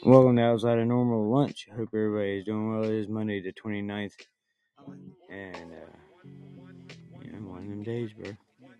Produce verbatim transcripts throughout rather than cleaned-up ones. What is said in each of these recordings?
Welcome to Outside of Normal Lunch. Hope everybody is doing well. It is Monday the twenty-ninth. And, uh, yeah, one of them days, bro.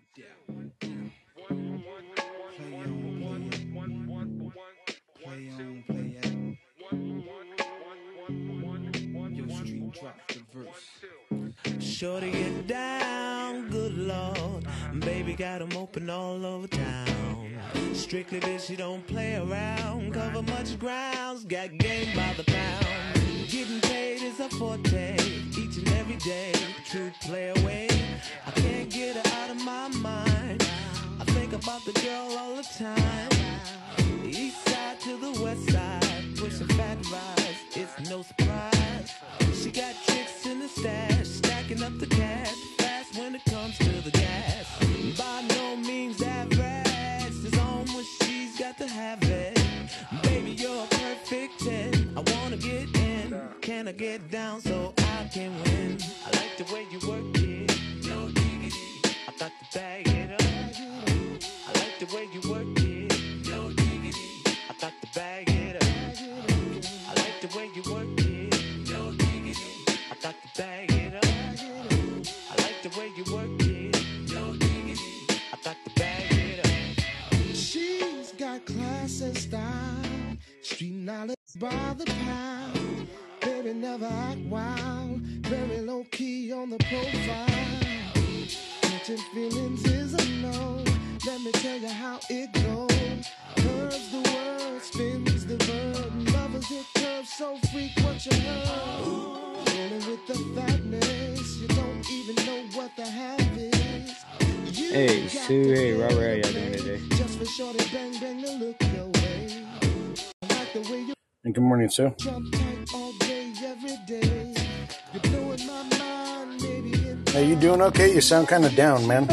Shorty get down, good lord. Baby got 'em open all over town. Strictly bitch, you don't play around. Cover much grounds, got game by the pound. Getting paid is a forte, each and every day. True play away, I can't get her out of my mind. I think about the girl all the time. The east side to the west side, pushing fat rides, it's no surprise. She got tricks in the stash, stacking up the cash, fast when it comes to the gas. By no means average, it's on when she's got to have it. Baby, you're a perfect ten, I wanna get in. Can I get down so I can win? I like the way you work it, no diggity. I got to bag it up. I like the way you work it, no diggity. I got to bag it up. I like the way you work it, no diggity. I got to bag it up. I like the way you work it, no diggity. I got to bag it up. She's got class and style, street knowledge by the pound. Baby never act wild, very low key on the profile. Catching feelings is a no. Let me tell you how it goes. Curves the word, spins the verb. Lovers hit curves so freak what you heard. Rolling with the fatness, you don't even know what the half is. You Hey, Sue. Hey, Robert. How y'all doing today? just for shorty bang bang to look your way. I like the way you And good morning, Sue. jump tight all day, every day. You're blowing my mind, maybe in Are you doing okay? You sound kind of down, man.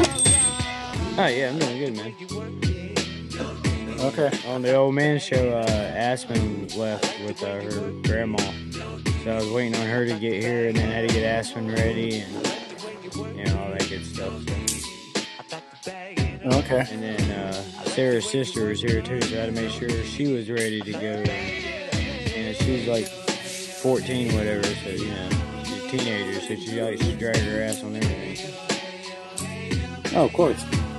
Oh, yeah, I'm doing good, man. Okay. On the old man show, uh, Aspen left with uh, her grandma. So I was waiting on her to get here, and then I had to get Aspen ready and, you know, all that good stuff. So. Okay. And then uh, Sarah's sister was here too, so I had to make sure she was ready to go. You know, she's like fourteen, whatever, so you know, she's a teenager, so she likes to drag her ass on everything. Oh, of course.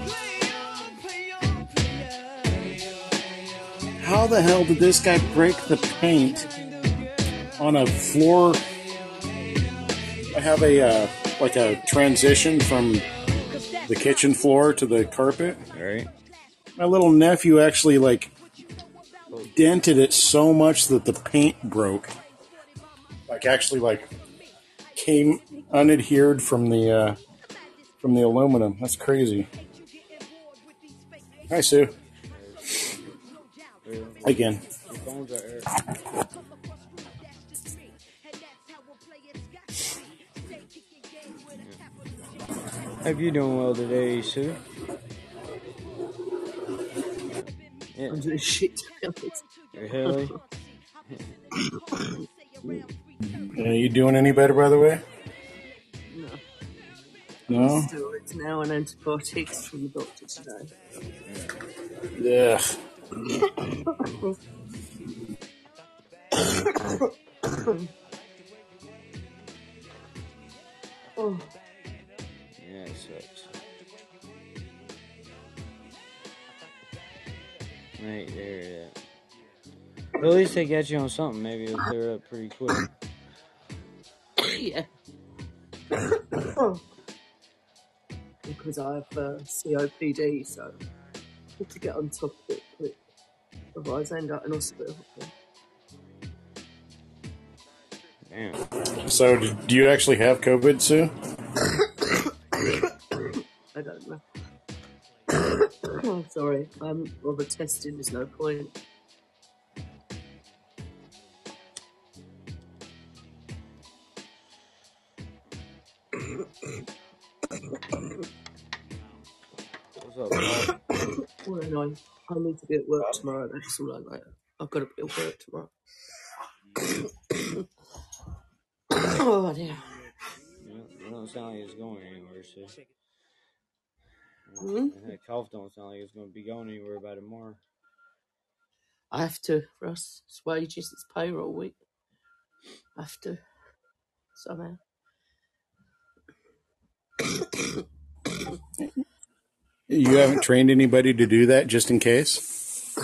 How the hell did this guy break the paint on a floor? I have a uh, like a transition from the kitchen floor to the carpet. All right. My little nephew actually like dented it so much that the paint broke. Like actually like came unadhered from the uh, from the aluminum. That's crazy. Hi, Sue. Again. Your phone's right here. Hope you're doing well today, Sue. Yeah. I'm doing shit. Really? Are you doing any better, by the way? No. No? Steroids now and antibiotics from the doctor today. Yeah. Oh. Yeah, it sucks. Right there, yeah. At least they got you on something. Maybe it'll clear up pretty quick. Yeah. Because I have uh, C O P D, so I need to get on top of it quick. Otherwise, I end up in hospital. Damn. So, do you actually have COVID, Sue? I don't know. Oh, sorry. I'm rather testing. There's no point. What's up, Paul? Well, no, I need to be at work tomorrow. That's all I know. I've got to be at work tomorrow. Oh, dear. You don't sound like it's going anywhere, so. Mm-hmm. That cough don't sound like it's going to be going anywhere by tomorrow. I have to, Russ. It's wages, it's payroll week. I have to, somehow. You haven't trained anybody to do that just in case?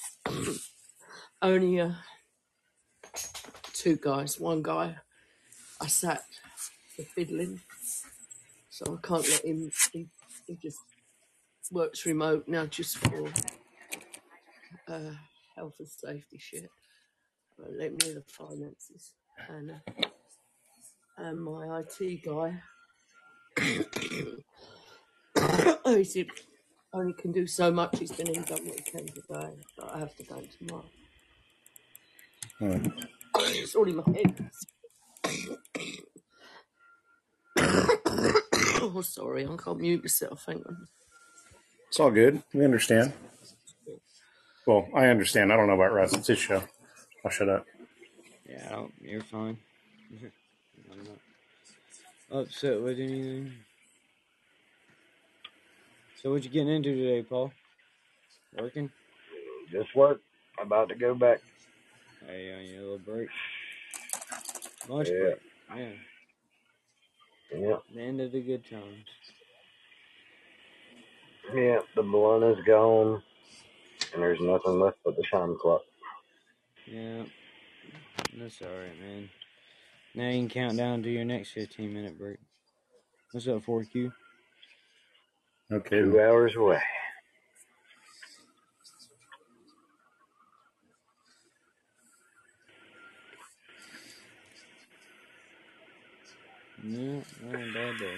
Only uh, two guys. One guy I sat for fiddling, so I can't let him. He, he just works remote now just for uh, health and safety shit. I won't let him near the finances. And, uh, and my I T guy, oh, he said only can do so much. He's been in done what he can today, but I have to go tomorrow. Hmm. It's all in my head. Oh, sorry, I can't mute myself. Hang on. It's all good. We understand. Well, I understand. I don't know about Russ. It's his show. I'll shut up. Yeah, I don't, you're fine. I'm not upset with anything. So what you getting into today, Paul? Working? Just work. About to go back. Hey, on your little break. Lunch Yeah. break. Yeah. Yeah. The end of the good times. Yeah, the blunt is gone, and there's nothing left but the time clock. Yeah. That's alright, man. Now you can count down to your next fifteen minute break. What's up, four Q? Okay. Two hours away. Yeah, not a bad day.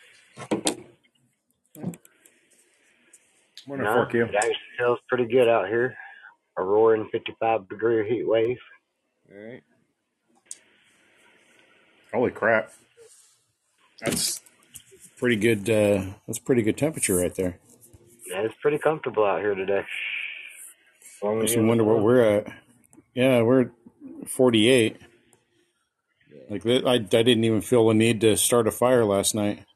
Morning, No, four Q. it actually feels pretty good out here. A roaring fifty-five degree heat wave. Alright. Holy crap. That's pretty good. Uh, that's pretty good temperature right there. Yeah, it's pretty comfortable out here today. As long as Makes you're me in the wonder what sun. we're at. Yeah, we're at forty-eight. Yeah. Like that, I, I didn't even feel the need to start a fire last night.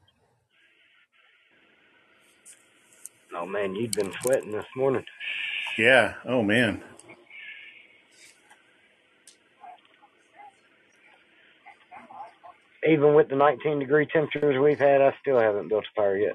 Oh man, you'd been sweating this morning. Yeah. Oh man. Even with the nineteen degree temperatures we've had, I still haven't built a fire yet.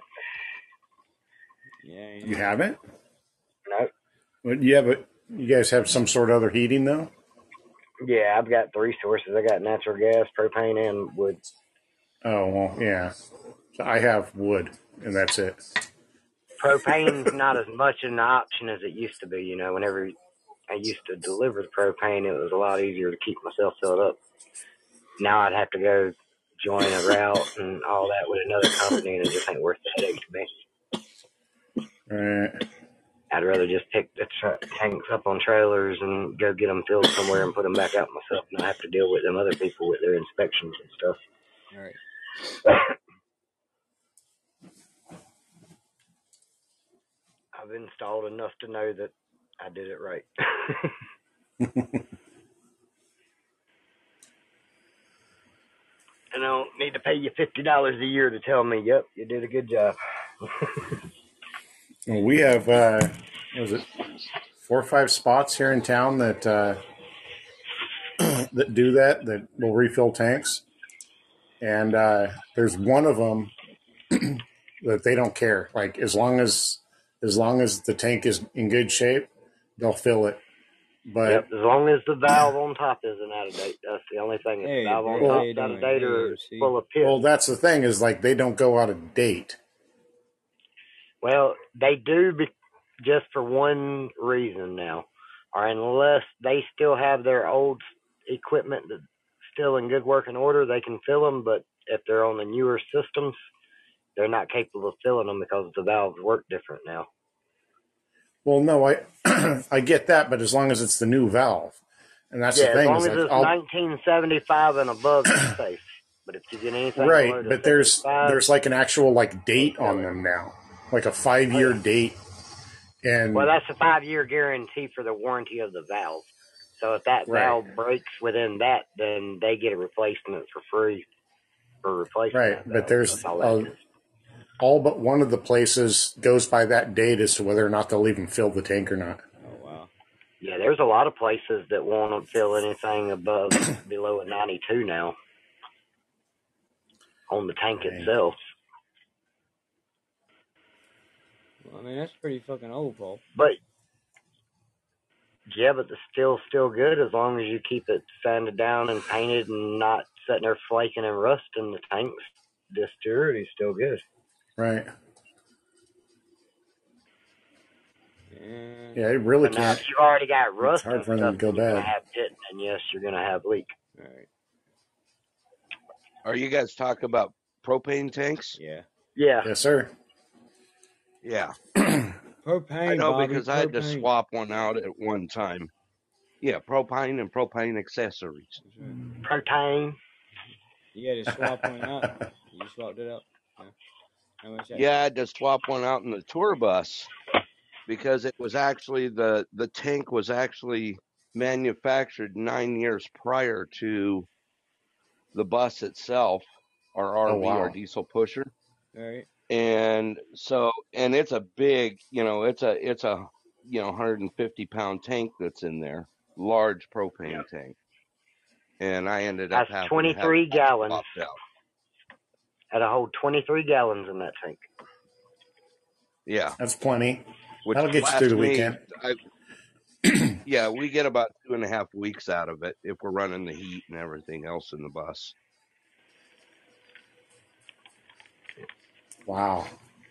Yeah. You haven't? No. But you have a. You guys have some sort of other heating though? Yeah, I've got three sources. I got natural gas, propane, and wood. Oh well, yeah. So I have wood, and that's it. Propane's not as much an option as it used to be. You know, whenever I used to deliver the propane, it was a lot easier to keep myself filled up. Now I'd have to go join a route and all that with another company, and it just ain't worth the headache to me. All right. I'd rather just pick the tra- tanks up on trailers and go get them filled somewhere and put them back out myself, and not have to deal with them other people with their inspections and stuff. Alright. I've installed enough to know that I did it right. I don't need to pay you fifty dollars a year to tell me, yep, you did a good job. Well, we have, uh, what was it, four or five spots here in town that uh, that do that, that will refill tanks. And uh, there's one of them that they don't care. Like as long as as long as the tank is in good shape, they'll fill it. But Yep, as long as the valve on top isn't out of date. That's the only thing. If Hey, the valve on bro, how top you is out of doing? date or Hey, it's M C. full of piss. well, that's the thing is like they don't go out of date. Well, they do be just for one reason now, or unless they still have their old equipment that's still in good working order, they can fill them. But if they're on the newer systems, they're not capable of filling them because the valves work different now. Well, no, I I get that, but as long as it's the new valve, and that's Yeah, the as thing long is as like it's I'll, nineteen seventy-five and above, it's safe. But if you get anything right, below the but there's seventy-five, there's like an actual like date fill on it. them now, like a five year Oh, yeah. date, and Well, that's a five-year guarantee for the warranty of the valve. So if that Right. valve breaks within that, then they get a replacement for free for replacing right, that valve. but there's That's all that uh, is. all but one of the places goes by that date as to whether or not they'll even fill the tank or not. Oh, wow. Yeah, there's a lot of places that won't fill anything above below a ninety-two now on the tank Dang. itself. Well, I mean, that's pretty fucking old, Paul. But yeah, but the still's still good as long as you keep it sanded down and painted and not sitting there flaking and rusting the tanks. The distillery's still good. Right. Yeah. Yeah, it really But now, can't. if you've already got rust hard and for them stuff, to go then you're bad. gonna have pitting, and yes, you're gonna have leak. All right. Are you guys talking about propane tanks? Yeah. Yeah. Yes, sir. Yeah. Propane, I know Bobby, because I had to propane. swap one out at one time. Yeah, propane and propane accessories. That's right. Protein. You had to swap one out. You swapped it out. Yeah. How much that? Yeah, I had to swap one out in the tour bus because it was actually the the tank was actually manufactured nine years prior to the bus itself, our R V, Oh, wow. our diesel pusher. All right. And so, and it's a big, you know, it's a, it's a, you know, one hundred fifty pound tank that's in there, large propane Yep. tank. And I ended up That's having twenty-three to have it gallons. swapped out. Had to hold twenty-three gallons in that tank. Yeah. That's plenty. Which That'll get you through the lasts me- weekend. I, yeah, we get about two and a half weeks out of it if we're running the heat and everything else in the bus. Wow.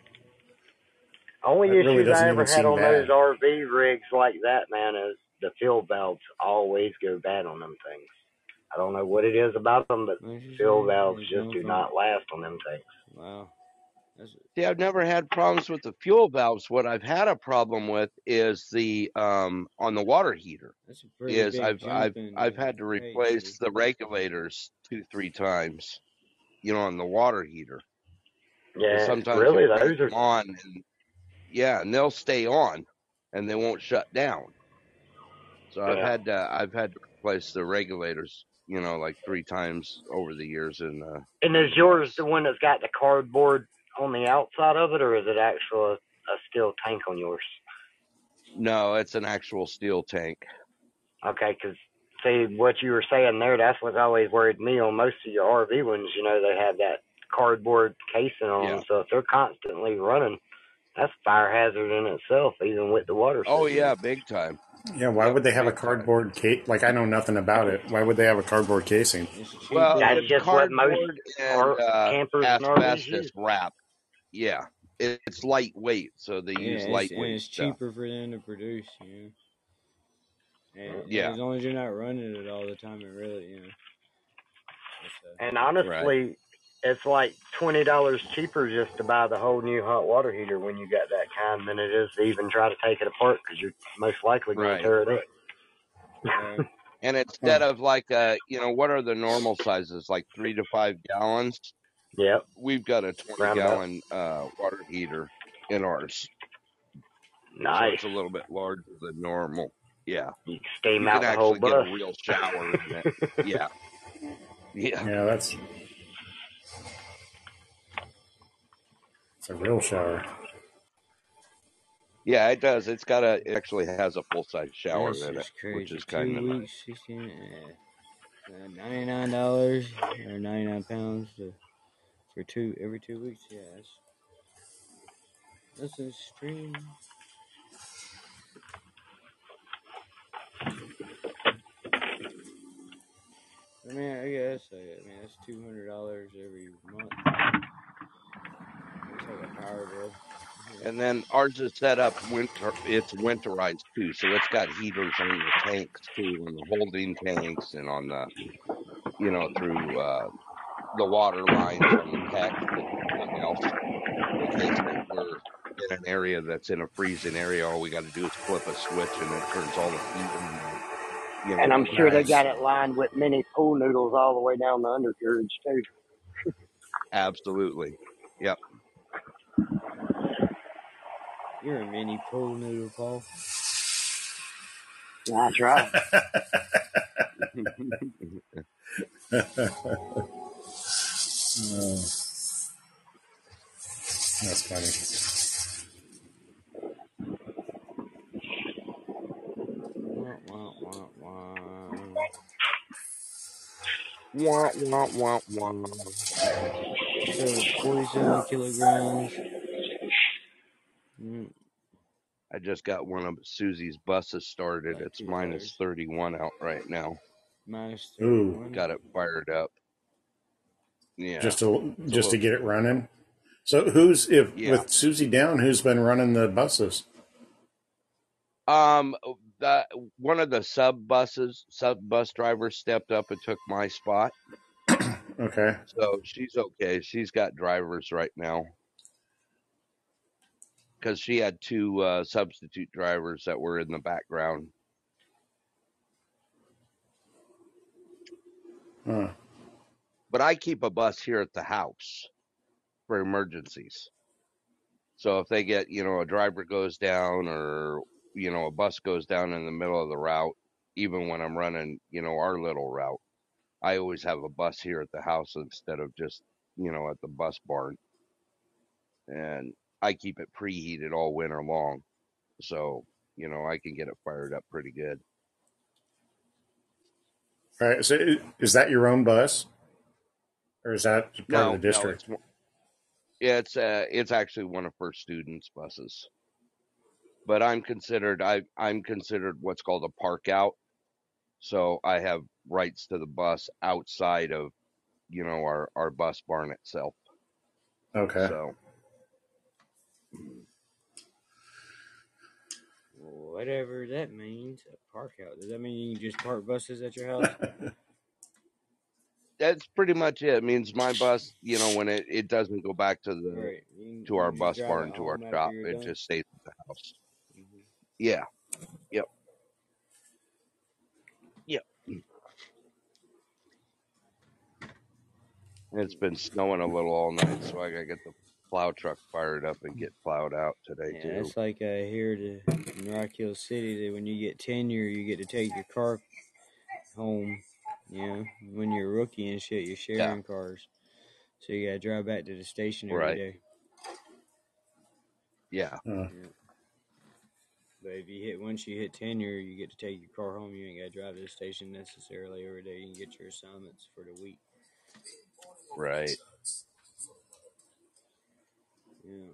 Only That really issues doesn't I ever even had seem on bad. those R V rigs like that, man, is the fuel valves always go bad on them things. I don't know what it is about them, but What you fuel say? valves It's just going do from- not last on them tanks. Wow. That's See, I've never had problems with the fuel valves. What I've had a problem with is the, um, on the water heater. that's a pretty is big I've jump I've in, I've uh, had to pay, replace buddy. the regulators two three times, you know, on the water heater. 'Cause Yeah, sometimes really, you crank those are them on, and yeah, and they'll stay on, and they won't shut down. So I've Yeah. had to I've had to replace the regulators, you know, like three times over the years. And uh, And is yours the one that's got the cardboard on the outside of it, or is it actual a steel tank on yours? no, it's an actual steel tank. Okay, because see what you were saying there, that's what's always worried me on most of your R V ones. You know, they have that cardboard casing on them, Yeah. so if they're constantly running, that's a fire hazard in itself, even with the water Oh system. yeah, big time. Yeah, why would they have a Big time. cardboard case? Like, I know nothing about it. Why would they have a cardboard casing? It's cheaper. Well, That's it's just what most cardboard and R- uh, campers and R Vs asbestos use. wrap. Yeah, it, it's lightweight, so they yeah, use it's, and lightweight it's stuff. cheaper for them to produce, you know. And, Yeah. and as long as you're not running it all the time, it really, you know. It's, uh, And honestly, it's like twenty dollars cheaper just to buy the whole new hot water heater when you got that kind than it is to even try to take it apart because you're most likely going Right. to tear it up. uh, And instead of like, uh, you know, what are the normal sizes? Like three to five gallons. Yep. We've got a twenty Round about. gallon uh, water heater in ours. So Nice. it's a little bit larger than normal. Yeah. You can steam You out can the whole actually get a bus. real shower in it. Yeah. Yeah. Yeah, that's it's a real shower. Yeah, it does. It's got a, it actually has a full size shower That's in it, just crazy. which is Two kind of nice. weeks, sixteen, uh, uh, ninety-nine dollars or ninety-nine pounds to, for two every two weeks. Yeah, that's that's extreme. I mean, I guess I, I mean that's two hundred dollars every month. It's like a power bill. Yeah. And then ours is set up winter. It's winterized too, so it's got heaters on the tanks too, on the holding tanks, and on the, you know, through uh, the water lines on the PEX and everything else. In case that we're in an area that's in a freezing area, all we got to do is flip a switch and it turns all the heat on. You know, And I'm sure they Nice. got it lined with mini pool noodles all the way down the undercarriage, too. absolutely. Yep. You're a mini pool noodle, Paul. That's right. Oh, that's funny. Well, Wah, wah. Wah, wah, wah, wah. So forty-seven kilograms. Mm, I just got one of Susie's buses started. like It's two minus tires. thirty-one out right now. Minus Ooh, thirty-one. Got it fired up. Yeah. just to It's a just to little get it slow. running. So who's if Yeah. with Susie down? Who's been running the buses? Um, the one of the sub buses, sub bus drivers stepped up and took my spot. Okay. So she's okay. She's got drivers right now because she had two uh, substitute drivers that were in the background. Huh. But I keep a bus here at the house for emergencies. So if they get, you know, a driver goes down or, you know, a bus goes down in the middle of the route, even when I'm running, you know, our little route, I always have a bus here at the house instead of just, you know, at the bus barn. And I keep it preheated all winter long. So, you know, I can get it fired up pretty good. All right. So is that your own bus, or is that part No, of the no, district? it's yeah, it's uh, it's actually one of her students' buses. But I'm considered I I'm considered what's called a park out. So I have rights to the bus outside of, you know, our, our bus barn itself. Okay. So Whatever that means, a park out. Does that mean you can just park buses at your house? that's pretty much it. It means my bus, you know, when it, it doesn't go back to the Right. You can, to you our just bus drive barn it to our home after shop, you're it done. just stays at the house. Mm-hmm. Yeah. Yep. Yep. It's been snowing a little all night, so I gotta get the plow truck fired up and get plowed out today Yeah, too. it's like uh, here to in Rock Hill City that when you get tenure, you get to take your car home. You know, when you're a rookie and shit, you're sharing Yeah. cars, so you gotta drive back to the station every Right. day. Yeah. Uh, Yeah. But if you hit once you hit tenure, you get to take your car home. You ain't gotta drive to the station necessarily every day. You can get your assignments for the week. Right. Yeah.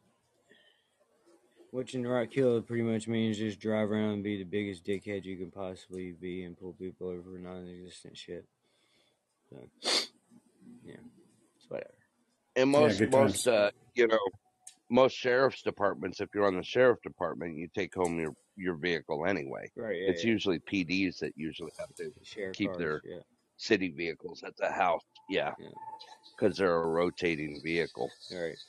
Which in Rock Hill pretty much means just drive around and be the biggest dickhead you can possibly be and pull people over for non-existent shit. So, yeah, it's whatever. And yeah, most good most times. uh you know, most sheriff's departments, if you're on the sheriff department, you take home your, your vehicle anyway. Right, yeah, It's yeah. usually P Ds that usually have to Share keep cars, their yeah. city vehicles at the house. Yeah. Yeah. Because they're a rotating vehicle. All right.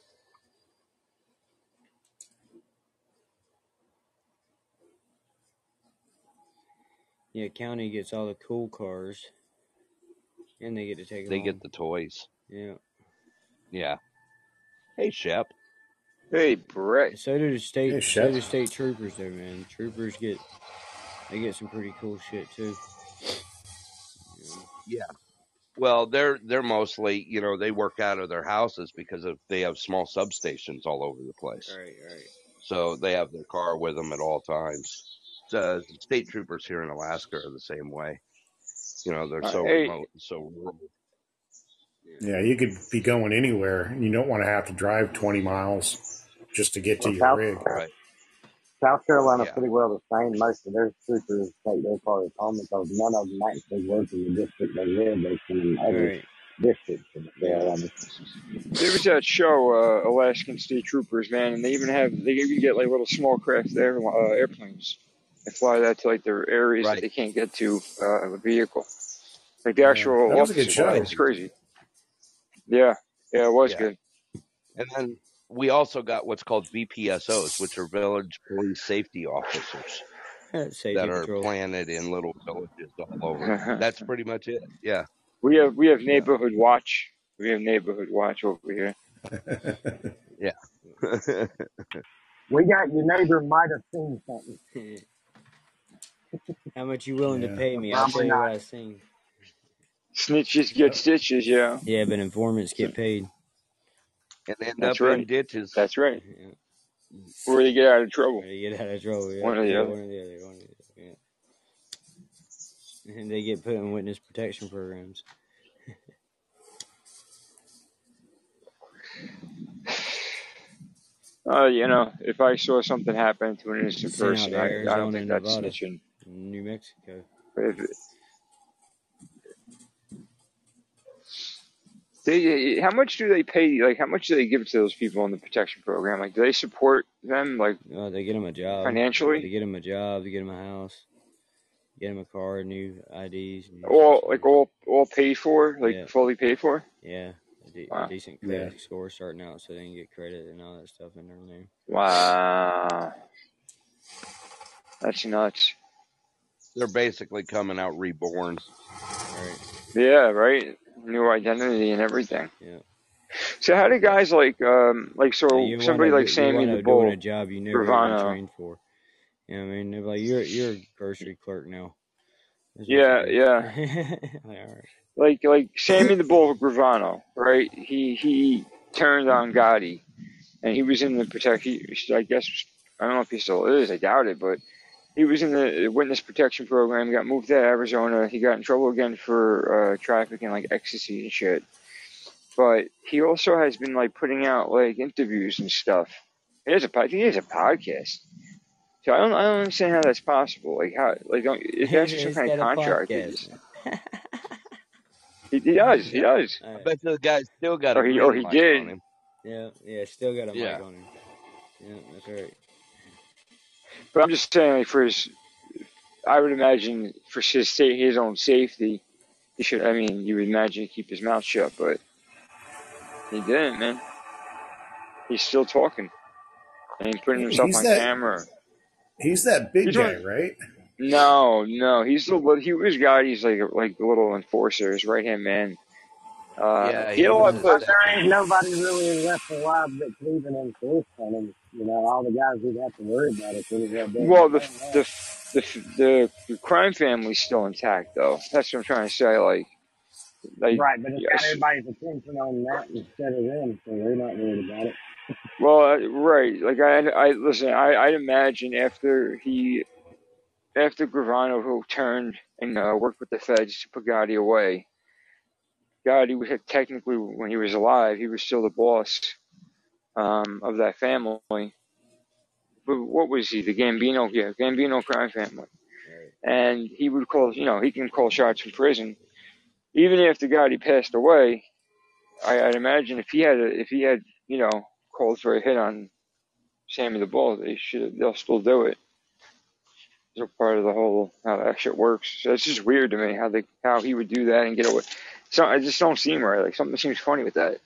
Yeah, county gets all the cool cars, and they get to take them They home. get the toys. Yeah. Yeah. Hey, Shep. Hey, Brett. So do the state. Hey, so Shep. do state troopers, though, man. Troopers get they get some pretty cool shit too. Yeah. Yeah. Well, they're they're mostly, you know, they work out of their houses because of they have small substations all over the place. All right, all right. So they have their car with them at all times. So state troopers here in Alaska are the same way. You know, they're Uh, so hey, remote, so rural. Yeah, you could be going anywhere, and you don't want to have to drive twenty miles just to get to Well, your South rig. Right. South Carolina Yeah. pretty well the same. Most of their troopers take their cars home because none of them actually work in the district they live. They come in All other right. districts in Yeah. Carolina. there was that show, uh, Alaskan State Troopers, man, and they even have, they even get like little small craft air, uh, airplanes and fly that to like their areas that Right. they can't get to, uh, with a vehicle. Like the Yeah, actual that was a good officers fly. show. It's crazy. Yeah. Yeah, it was Yeah. good. And then we also got what's called V P S Os, which are village police safety officers Safety that are patrol. planted in little villages all over. That's pretty much it. Yeah. we have, we have Yeah. neighborhood watch. We have neighborhood watch over here. Yeah. We got your neighbor might have seen something. How much you willing to Yeah. pay me? I'll tell Probably you what not. I seen. Snitches get stitches, yeah. Yeah, but informants get paid. And end That's up in right. ditches. That's right. Yeah. Or they get out of trouble. Or you get out of trouble. Yeah. One or the Yeah, other. one or the other. One or the other. Yeah. And they get put in witness protection programs. Uh, you know, if I saw something happen to an innocent Sent out person, to I, I Arizona don't think and that's Nevada, snitching. and New Mexico. But if it, they, how much do they pay? Like, how much do they give to those people in the protection program? Like, do they support them, like, Oh, they get them a job. They financially? get them a job. They get them a house. Get them a car, new I Ds. New All, social like, security. all, all paid for? Like, Yeah, fully paid for? yeah. A, de- a Wow. decent Yeah. credit score starting out, so they can get credit and all that stuff in their name. Wow. That's nuts. They're basically coming out reborn. Right. Yeah, right? New identity and everything. Yeah. So how do guys like, um, like, So so you wind somebody up like do- you Sammy wind the up doing a Bull, job you never even Gravano? trained for. You know what I mean? They're like, you're you're a grocery clerk now. That's what Yeah, you yeah. do. Like, all right. Like, like Sammy the Bull Gravano, right? He, he turned on Gotti and he was in the protect, he, I guess, I don't know if he still is, I doubt it, but he was in the witness protection program, got moved to Arizona. He got in trouble again for uh, trafficking, like ecstasy and shit. But he also has been like putting out like interviews and stuff. He has a, I think he has a podcast. So I don't, I don't understand how that's possible. Like how, like don't, if that's some He's kind of got a contract, he, podcast, just, man. he, he does, he does, All I right. bet the guy's still got a or he, or green he mic did. on him. Yeah, yeah, still got a mic Yeah. on him. Yeah, that's right. But I'm just saying, like for his, I would imagine for his sa- his own safety, he should. I mean, you would imagine he'd keep his mouth shut, but he didn't, man. He's still talking and he's putting himself He's on that camera. he's that big He's guy, one. right? No, no, he's the li- he was guy. He's like a, like a little enforcer, his right hand man. Uh, Yeah, he he had a was lot his of. But there second. ain't nobody really left alive that could even enforce on him. You know, all the guys we'd have to worry about it could have well done Well, the themselves. the the the, the crime family's still intact, though. That's what I'm trying to say. Like, like Right, but it's got yes. everybody's attention on that instead of them, so they're not worried about it. Well, uh, right. Like I, I listen. I, I'd imagine after he, after Gravano, who turned and uh, worked with the feds to put Gotti away. Gotti was technically, when he was alive, he was still the boss um, of that family. But what was he? The Gambino, yeah, Gambino crime family. Right. And he would call, you know, he can call shots from prison. Even after Gotti passed away, I, I'd imagine if he had, a, if he had, you know, called for a hit on Sammy the Bull, they should, they'll still do it. They're part of the whole how that shit works. So it's just weird to me how they, how he would do that and get away. So I just don't seem right. Like something seems funny with that.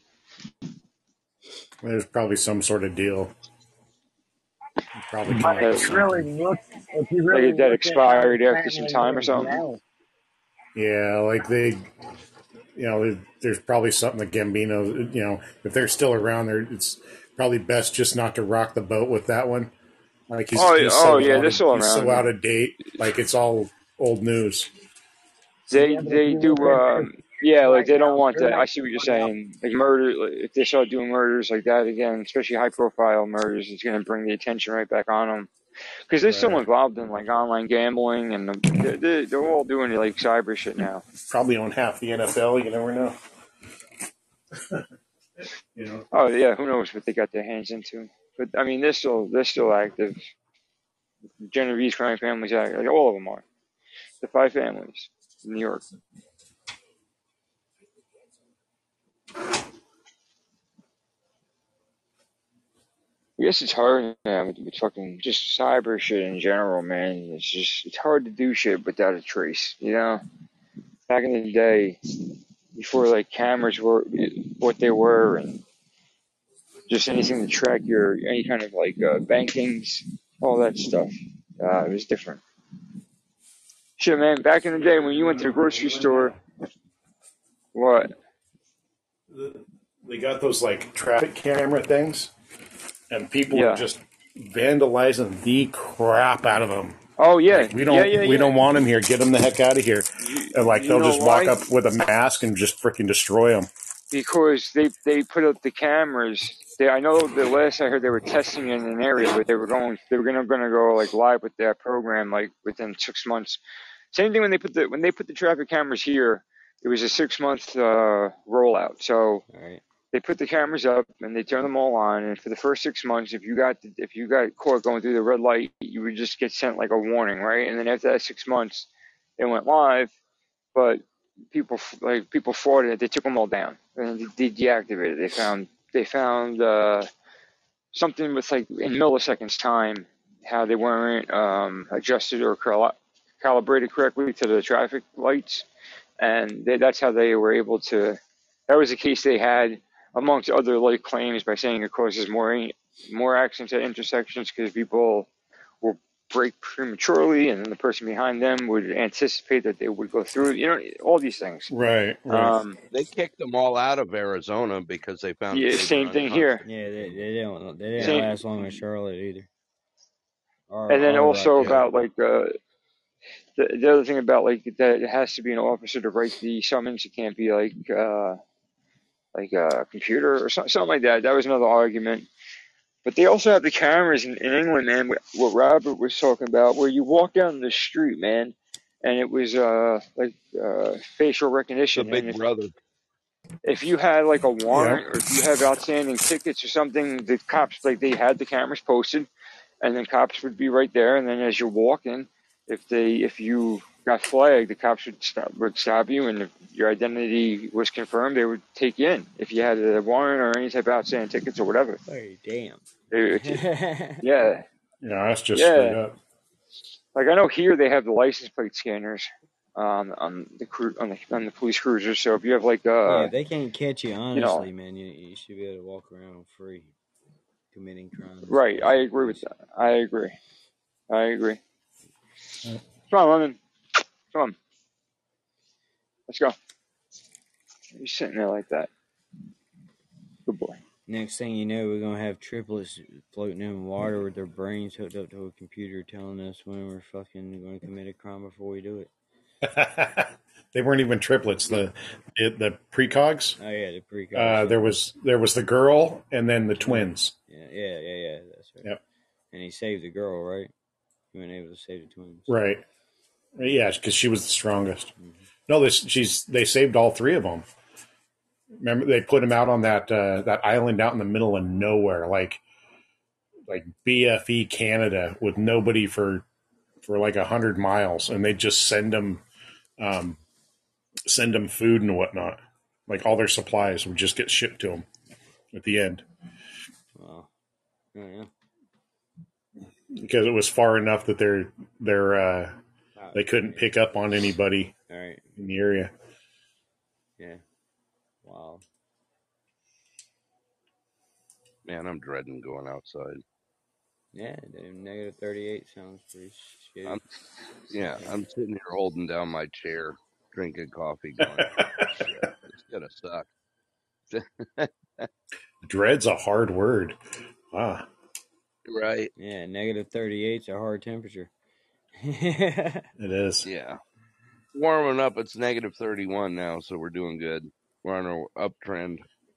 There's probably some sort of deal. Probably come But up Like, with if you something. really look, if you like really it that look at how his expired after some family time or is something. now, Yeah, like they, you know, there- there's probably something that Gambino, you know, if they're still around there, it's probably best just not to rock the boat with that one. Like he's, Oh, he's oh so yeah, out they're of, still he's so around. out of date. Like it's all old news. They yeah, but if they you do. look at Um, yeah, like right they don't now, want they're that. I not see what you're going out. saying. Like murder, like, if they start doing murders like that again, especially high profile murders, it's going to bring the attention right back on them. Because they're still Right. involved in like online gambling and the, they're, they're they're all doing like cyber shit now. Probably own half the N F L. You never know. You know. Oh yeah, who knows what they got their hands into? But I mean, they're still they're still active. Genovese crime families active. Like all of them are. The five families in New York. I guess it's hard now with, with fucking just cyber shit in general, man. It's just it's hard to do shit without a trace, you know. Back in the day, before like cameras were what they were, and just anything to track your any kind of like uh, bankings, all that stuff, uh, it was different. Shit, man. Back in the day when you went to the grocery store, what? They got those like traffic camera things, and people are Yeah. just vandalizing the crap out of them. Oh yeah, Like, we don't yeah, yeah, we yeah. don't want them here. Get them the heck out of here. You, And like you they'll know just walk why? up with a mask and just freaking destroy them. Because they they put up the cameras. They I know the last I heard they were testing in an area, but they were going they were gonna gonna go like live with that program like within six months. Same thing when they put the when they put the traffic cameras here. It was a six month uh, rollout. So All right. they put the cameras up and they turn them all on. And for the first six months, if you got if you got caught going through the red light, you would just get sent like a warning, right? And then after that six months, it went live. But people like people frauded it. They took them all down and they deactivated. They found they found uh, something with like in milliseconds time how they weren't um, adjusted or cal- calibrated correctly to the traffic lights, and they, that's how they were able to. That was the case they had amongst other like claims by saying it causes more more accidents at intersections because people will brake prematurely, and then the person behind them would anticipate that they would go through. You know, all these things. Right, right. Um, They kicked them all out of Arizona because they found yeah, they same were thing here. Yeah, they, they don't they didn't Same, last long in Charlotte either. Or, and then or also like uh, about like uh, the the other thing about like that it has to be an officer to write the summons. It can't be like uh, like a computer or something, something like that. That was another argument. But they also have the cameras in, in England, man. What Robert was talking about, where you walk down the street, man, and it was uh like uh facial the recognition. And Big if Brother. if you had like a Yep. warrant or if you have outstanding tickets or something, the cops like they had the cameras posted, and then cops would be right there. And then as you're walking, if they if you got flagged, the cops would stop would stop you, and if your identity was confirmed, they would take you in. If you had a warrant or any type of outstanding tickets or whatever, hey, damn. they would t- Yeah, yeah, Yeah, that's just straight yeah. up. Like I know here they have the license plate scanners um, on the cru- on the on the police cruisers. So if you have like uh if they can't catch you, you know honestly, man, you, you should be able to walk around free committing crimes. right, I Without agree with police. that. I agree. I agree. Uh, Come on, Lemon. Come on, let's go. You're sitting there like that. Good boy. Next thing you know, we're gonna have triplets floating in water with their brains hooked up to a computer, telling us when we're fucking going to commit a crime before we do it. They weren't even triplets. The the, the precogs. Oh yeah, the precogs. Uh, there was there was the girl and then the twins. Yeah, yeah, yeah, yeah. That's right. Yep. And he saved the girl, right? He wasn't able to save the twins. Right. Yeah, because she was the strongest. Mhm. No, this she's they saved all three of them. Remember, they put him out on that uh, that island out in the middle of nowhere, like like B F E Canada, with nobody for for like a hundred miles, and they just send them um, send them food and whatnot. Like all their supplies would just get shipped to them at the end Wow. Oh, yeah. because it was far enough that they're they're uh, Oh, they couldn't pick up on anybody all right. in the area. Yeah. Wow. Man, I'm dreading going outside. Yeah, the negative thirty-eight sounds pretty shitty. I'm yeah, I'm sitting here holding down my chair, drinking coffee, going, shit, it's gonna suck. Dread's a hard word. Wow. Right? Yeah, negative thirty-eight's a hard temperature. It is. Yeah. Warming up. It's negative thirty-one now, so we're doing good. We're on our uptrend.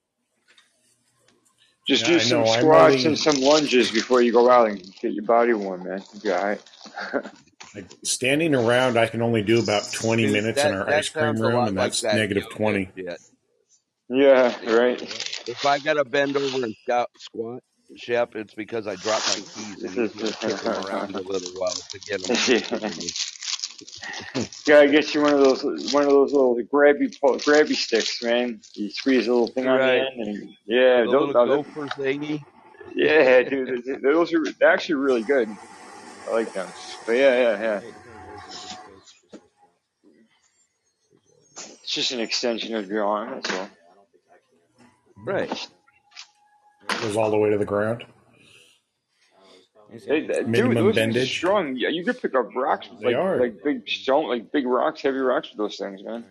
Just Yeah, do I some know. I'm squats only and some lunges before you go out and get your body warm, man. You'll be all right. like, standing around. I can only do about twenty Dude, minutes in that our that ice cream sounds a room, lot and like that's that negative yoga twenty. shit. Yeah, right. If I gotta bend over and scout, squat, Shep, it's because I dropped my keys and he's gonna kick them around a little while to get them closer to me. Gotta get you one of those one of those little grabby po- grabby sticks, man. You squeeze a little thing on the Right. end, and yeah, The those, little uh, gopher thingy. yeah, dude, th- those are they're actually really good. I like them. But yeah, yeah, yeah. It's just an extension of your arm. That's all. Right. Goes all the way to the ground. Hey, that- dude, Minimum those things are bendage. strong. Yeah, you could pick up rocks, They like are. like big stone, like big rocks, heavy rocks with those things, man.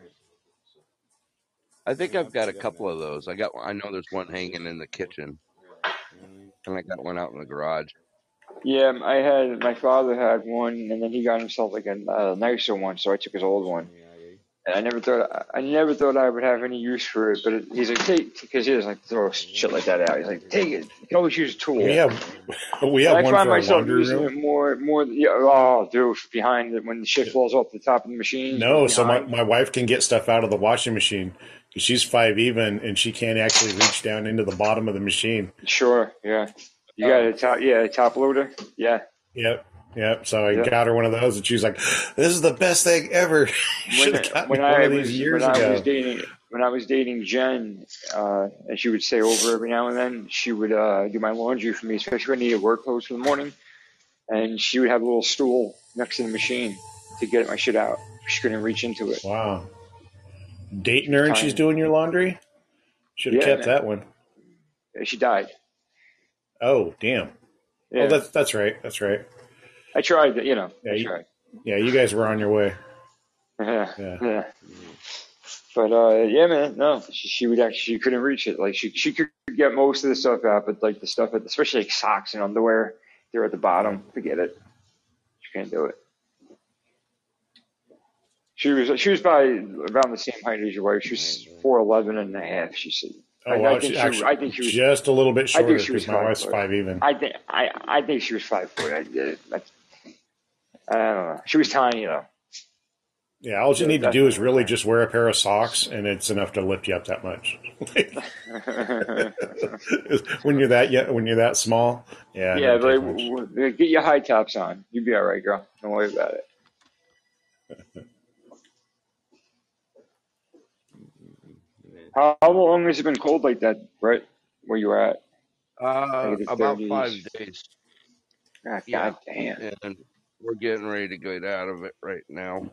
I think I've got a couple of those. I got. I know there's one hanging in the kitchen, and I got one out in the garage. Yeah, I had my father had one, and then he got himself like a uh, nicer one, so I took his old one. And I never thought I never thought I would have any use for it. But it, he's like, take, because he doesn't like to throw shit like that out. He's like, take it. You can always use a tool. We have we have And I one find for our myself laundry using room. it more, more. Yeah, oh, dude, behind it when the shit falls off the top of the machine. No, so my, behind. my wife can get stuff out of the washing machine because she's five even and she can't actually reach down into the bottom of the machine. Sure, yeah. You got a top, yeah, a top loader, yeah. Yep, yep. So I Yep. got her one of those, and she's like, "This is the best thing ever." Should have gotten When me one I of these was years when I ago. was dating when I was dating Jen, uh, and she would stay over every now and then. She would uh, do my laundry for me, especially when I needed work clothes for the morning. And she would have a little stool next to the machine to get my shit out. She couldn't reach into it. Wow. Dating her and she's Tiny. doing your laundry? Should have Yeah, kept man. that one. She died. Oh, damn. Yeah, Oh, that's that's right. That's right. I tried. You know, Yeah, I you, tried. yeah, you guys were on your way. Yeah, Yeah. yeah. But uh, yeah, man, no, she, she would actually she couldn't reach it. Like she she could get most of the stuff out, but like the stuff, at, especially like socks and underwear, they're at the bottom. Forget it. She can't do it. She was she was probably around the same height as your wife. She was four eleven and a half. She said. Oh, I, well, I think she, she, actually, I think she was. just a little bit I shorter think she was because my five wife's foot. five even. I think I I think she was five foot. I, I, I don't know. She was tiny though. Yeah, all you So need to that's do is really just wear a pair of socks, and it's enough to lift you up that much. when you're that yeah, when you're that small, yeah. it Yeah, doesn't but take like, much. w- w- get your high tops on. You'll be all right, girl. Don't worry about it. How, how long has it been cold like that, Brett? Where you were at? Uh, Like in the about five thirties. days. God, Yeah, God damn. and we're getting ready to get out of it right now.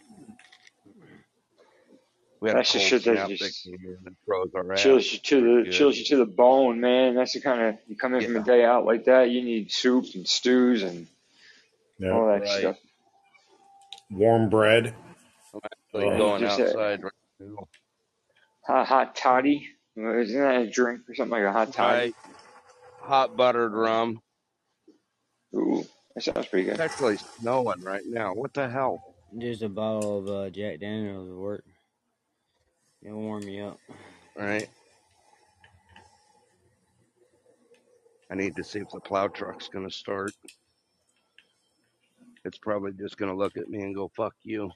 We had a That's the cold shit that snap that just came in and froze our ass chills you to pretty the good. chills you to the bone, man. That's the kind of you come in from a Yeah, day out like that. You need soups and stews and all Yep. that right. stuff. Warm bread. I'm actually Oh, And going just a outside right now. hot, hot toddy. Isn't that a drink or something like a hot toddy? Right. Hot buttered rum. Ooh, that sounds pretty It's good. actually snowing right now. What the hell? Just a bottle of uh, Jack Daniels will work. It'll warm you up. Right. I need to see if the plow truck's going to start. It's probably just going to look at me and go, fuck you.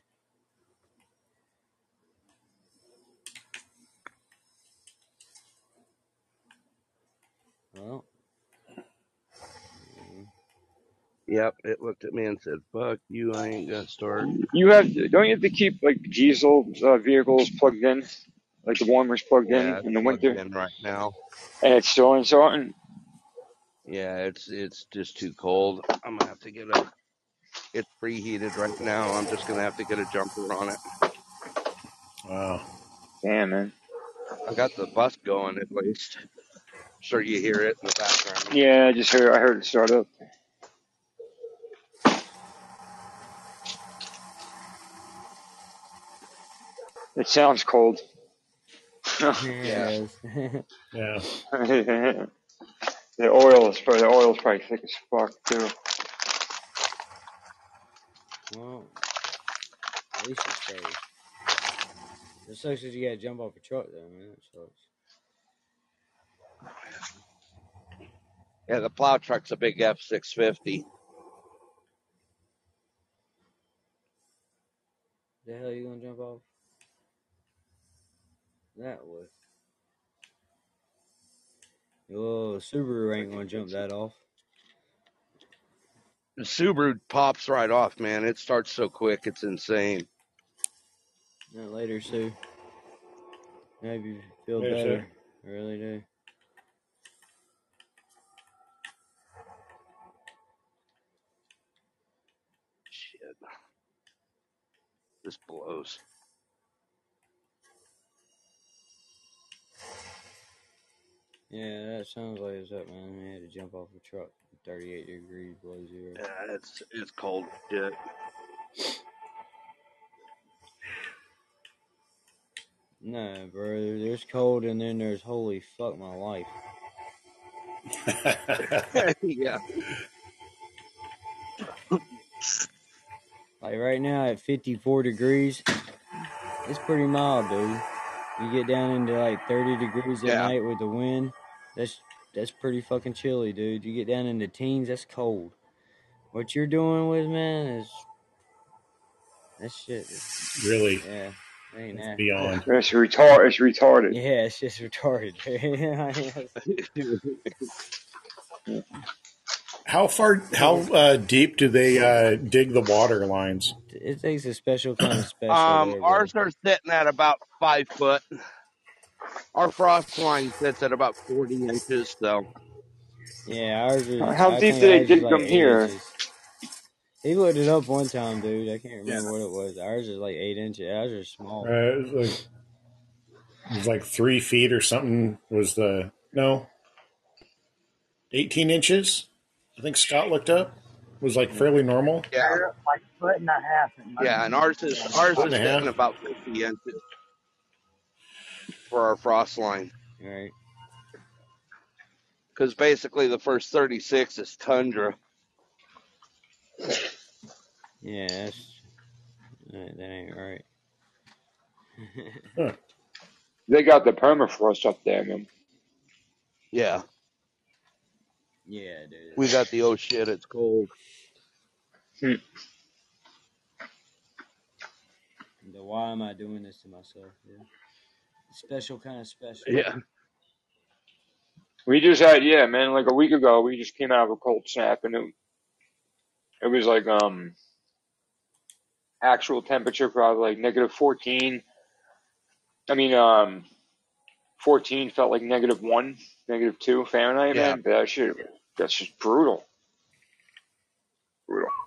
Well, Yep, it looked at me and said, fuck you, I ain't going to start. You have to, don't you have to keep like diesel uh, vehicles plugged in, like the warmers plugged Yeah, in it's in the plugged winter, in right now. and it's still uncertain? Yeah, it's it's just too cold. I'm going to have to get a, it's preheated right now. I'm just going to have to get a jumper on it. wow. Damn, man. I got the bus going at least. Sure you hear it in the background. Yeah, I just heard I heard it start up. It sounds cold. Yeah. yes. Yeah. The oil is probably the oil is probably thick as fuck too. Well, at least it stays. It sucks that you gotta jump off a truck though, man. That sucks. Yeah, the plow truck's a big F six fifty. The hell you gonna jump off? That way. Whoa, Subaru ain't gonna jump that off. The Subaru pops right off, man. It starts so quick, it's insane. Not later, Sue. Maybe you feel Yeah, better. sure. I really do. Shit. This blows. Yeah, that sounds like it's up, man. We had to jump off a truck. thirty-eight degrees below zero. Yeah, it's it's cold as shit. No, bro. There's cold and then there's holy fuck my life. Yeah. Like right now at fifty-four degrees, it's pretty mild, dude. You get down into like thirty degrees at Yeah. night with the wind. That's that's pretty fucking chilly, dude. You get down into teens, that's cold. What you're doing with, man, is that shit. Is, Really, yeah, it ain't it's nasty. beyond. It's retard. It's retarded. Yeah, it's just retarded. How far? How uh, deep do they uh, dig the water lines? It takes a special kind of special. Um, there, ours bro. are sitting at about five foot. Our frost line sits at about forty inches. So Yeah, ours is. How I deep think do they ours is dig like them eight here? inches. He looked it up one time, dude. I can't remember Yeah. what it was. Ours is like eight inches. Ours are small. Uh, it, was like, it was like three feet or something. Was the no? Eighteen inches. I think Scott looked up. Was like fairly normal. yeah, Like a foot and a half. yeah, and ours is ours Foot is and a half. sitting about fifty inches for our frost line. Right. Because basically the first thirty-six is tundra. Yeah, that's, that, that ain't right. Huh. They got the permafrost up there, man. Yeah, Yeah, dude. we got the oh shit, it's cold. Hmm. The why am I doing this to myself? Yeah. Special kind of special. Yeah, We just had, yeah, man, like a week ago, we just came out of a cold snap, and it, it was like um actual temperature probably like negative fourteen. I mean, um, fourteen felt like negative one, negative two Fahrenheit, yeah. man. But that shit, that's just brutal. Brutal.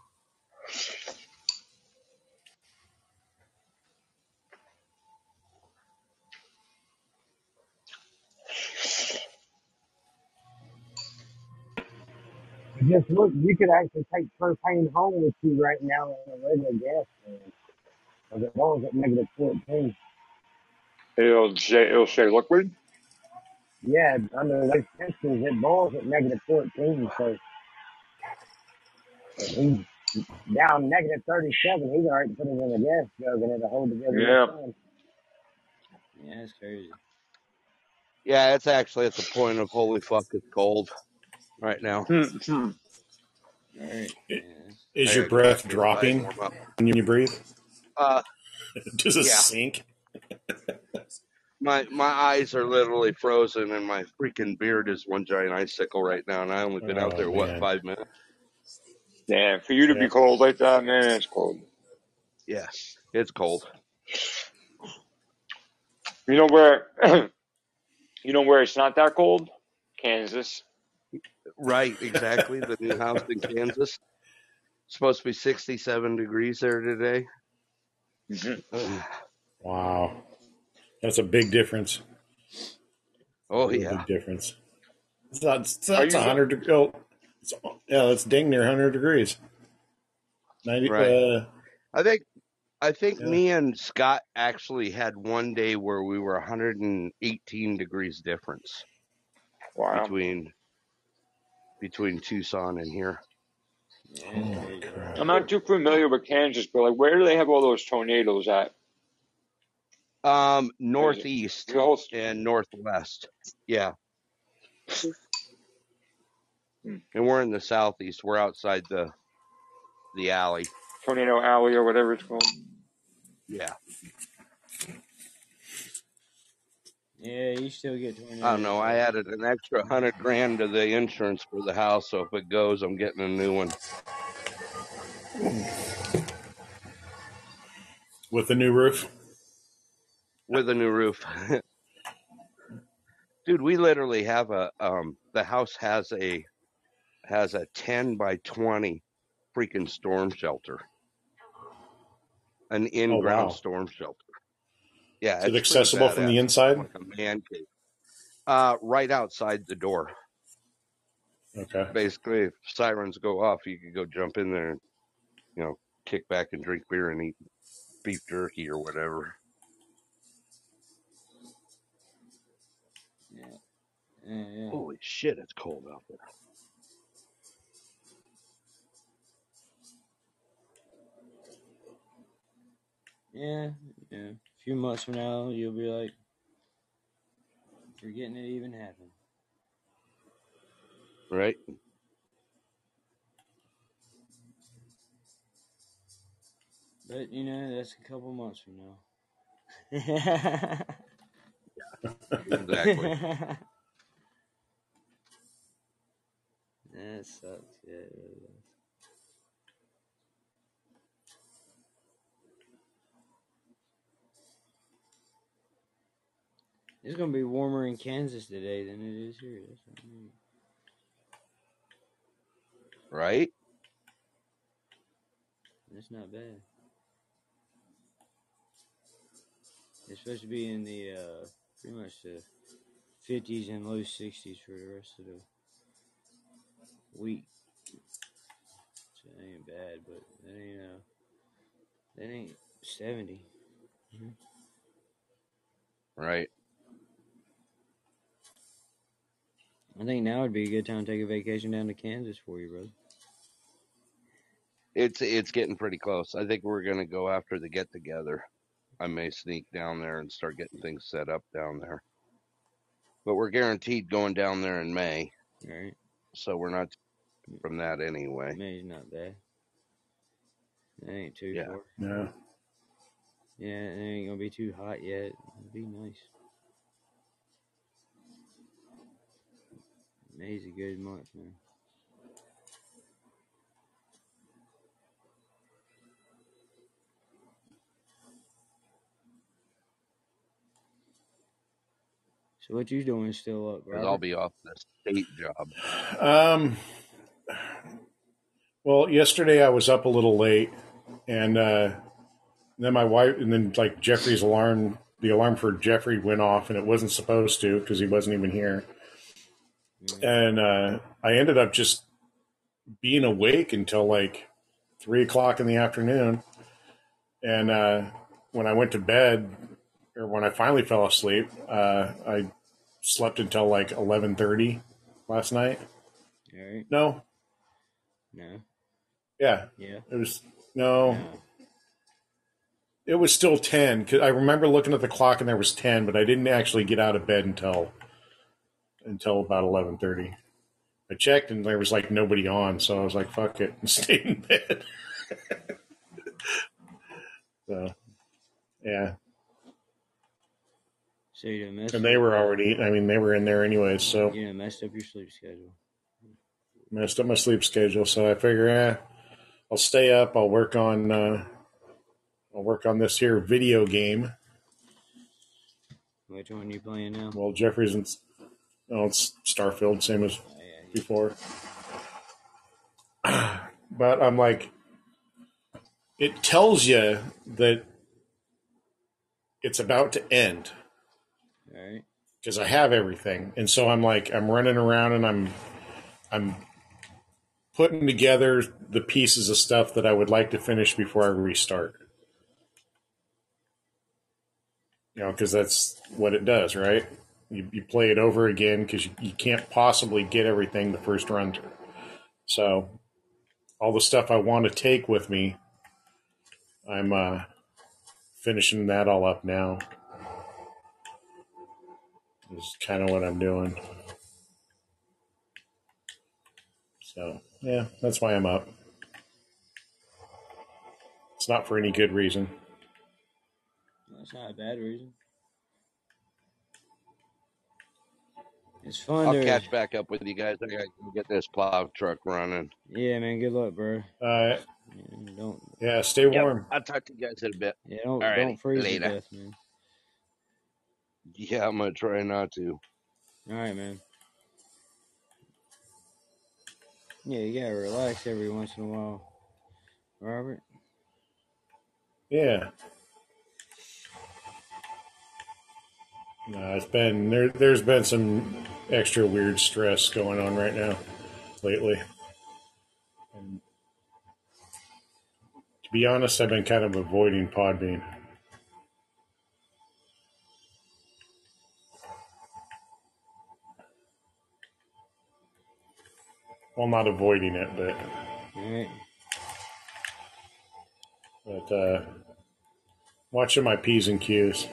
Just look, you could actually take propane home with you right now in a regular gas can. Because it was at negative fourteen. It'll say, it'll say liquid. Yeah, under those temperatures, it boils at negative fourteen. So if he's down negative thirty-seven, he's all right to put it in a gas jug and it'll hold together Yeah. just fine. Yeah, that's crazy. Yeah, it's actually at the point of holy fuck, it's cold right now. Hmm, hmm. Right. It- Yeah. Is I your gotta go breath back inside and dropping warm up. when you breathe? Uh, Does it yeah. sink? My my eyes are literally frozen, and my freaking beard is one giant icicle right now. And I only been out Oh, there what man. five minutes? Damn, for you to Yeah. be cold like that, man, it's cold. Yeah, it's cold. You know where? You know where it's not that cold? Kansas. Right, exactly. The new house in Kansas. Supposed to be sixty-seven degrees there today. Mm-hmm. Wow, that's a big difference. Oh Real yeah, big difference. It's not. It's, Are that's you a hundred. deg- Oh, it's, yeah, that's dang near hundred degrees. Ninety. Right. Uh, I think I think Yeah. me and Scott actually had one day where we were one hundred eighteen degrees difference Wow. between between Tucson and here. Yeah, oh that's my crazy. crap. I'm not too familiar with Kansas, but like, where do they have all those tornadoes at? Um, northeast The whole and northwest. Yeah. Hmm. And we're in the southeast. We're outside the the alley. tornado alley or whatever it's called. Yeah. Yeah, you still get tornadoes. I don't know. I added an extra hundred grand to the insurance for the house, so if it goes, I'm getting a new one. With the new roof. With a new roof. Dude, we literally have a um the house has a has a ten by twenty freaking storm shelter. An in-ground wow. storm shelter. Yeah, Is it it's pretty accessible from the badass. inside? Like a man cave. Uh right outside the door. Okay. Basically, if sirens go off, you could go jump in there and, you know, kick back and drink beer and eat beef jerky or whatever. Yeah. Yeah, yeah. Holy shit, it's cold out there. Yeah, yeah. few months from now, you'll be like, forgetting it even happened. Right. But, you know, that's a couple months from now. Exactly. That sucks. Yeah, it really does. It's gonna be warmer in Kansas today than it is here. That's what I mean. Right? That's not bad. It's supposed to be in the uh, pretty much the fifties and low sixties for the rest of the week. So that ain't bad, but that ain't uh, that ain't seventy. Mm-hmm. Right. I think now would be a good time to take a vacation down to Kansas for you, brother. It's it's getting pretty close. I think we're gonna go after the get together. I may sneak down there and start getting things set up down there. But we're guaranteed going down there in May. Right. So we're not from that anyway. May's not bad. That ain't too Yeah. far. No. Yeah, it ain't gonna be too hot yet. It'll be nice. May's a good month, man. So what you doing still up, Because Robert? I'll be off the state job. Um. Well, yesterday I was up a little late, and uh, then my wife, and then like Jeffrey's alarm, the alarm for Jeffrey went off, and it wasn't supposed to because he wasn't even here. Mm. And uh, I ended up just being awake until like three o'clock in the afternoon. And uh, when I went to bed, or when I finally fell asleep, uh, I slept until like eleven thirty last night. All right. No, No. yeah, Yeah. it was no. No. It was still ten. 'Cause I remember looking at the clock and there was ten, but I didn't actually get out of bed until until about eleven thirty. I checked and there was like nobody on, so I was like, "Fuck it," and stayed in bed. So, yeah, So you done messed and they up, were uh, already. I mean, they were in there anyways, so you done messed up your sleep schedule. messed up my sleep schedule. So I figure, eh, I'll stay up. I'll work on. Uh, I'll work on this here video game. Which one you playing now? Well, Jeffrey's in. Oh, it's Starfield, same as Oh, yeah. before. But I'm like, it tells you that it's about to end All right. because I have everything, and so I'm like, I'm running around and I'm, I'm putting together the pieces of stuff that I would like to finish before I restart. You know, because that's what it does, right? You, you play it over again because you, you can't possibly get everything the first run through. So all the stuff I want to take with me, I'm uh, finishing that all up now. Is kind of what I'm doing. So yeah, that's why I'm up. It's not for any good reason. That's not a bad reason. It's fun I'll to catch back up with you guys. I gotta go get this plow truck running. Yeah, man. Good luck, bro. Uh, Yeah, don't. yeah, stay warm. Yep. I'll talk to you guys in a bit. Yeah, don't. Alrighty, Don't freeze later. to death, man. Yeah, I'm gonna try not to. All right, man. Yeah, you gotta relax every once in a while, Robert. Yeah. No, it's been there. There's been some extra weird stress going on right now, lately. And to be honest, I've been kind of avoiding Podbean. Well, not avoiding it, but All right. but uh, Watching my P's and Q's.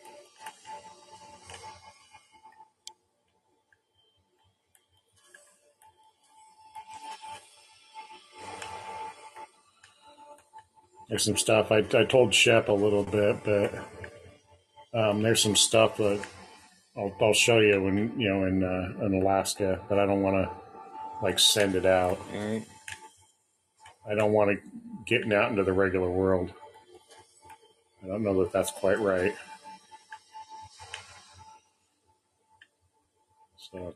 There's some stuff. I, I told Shep a little bit, but um, there's some stuff that I'll, I'll show you when you know in uh, in Alaska, but I don't want to like send it out. All right. I don't want to getting out into the regular world. I don't know that that's quite right. So.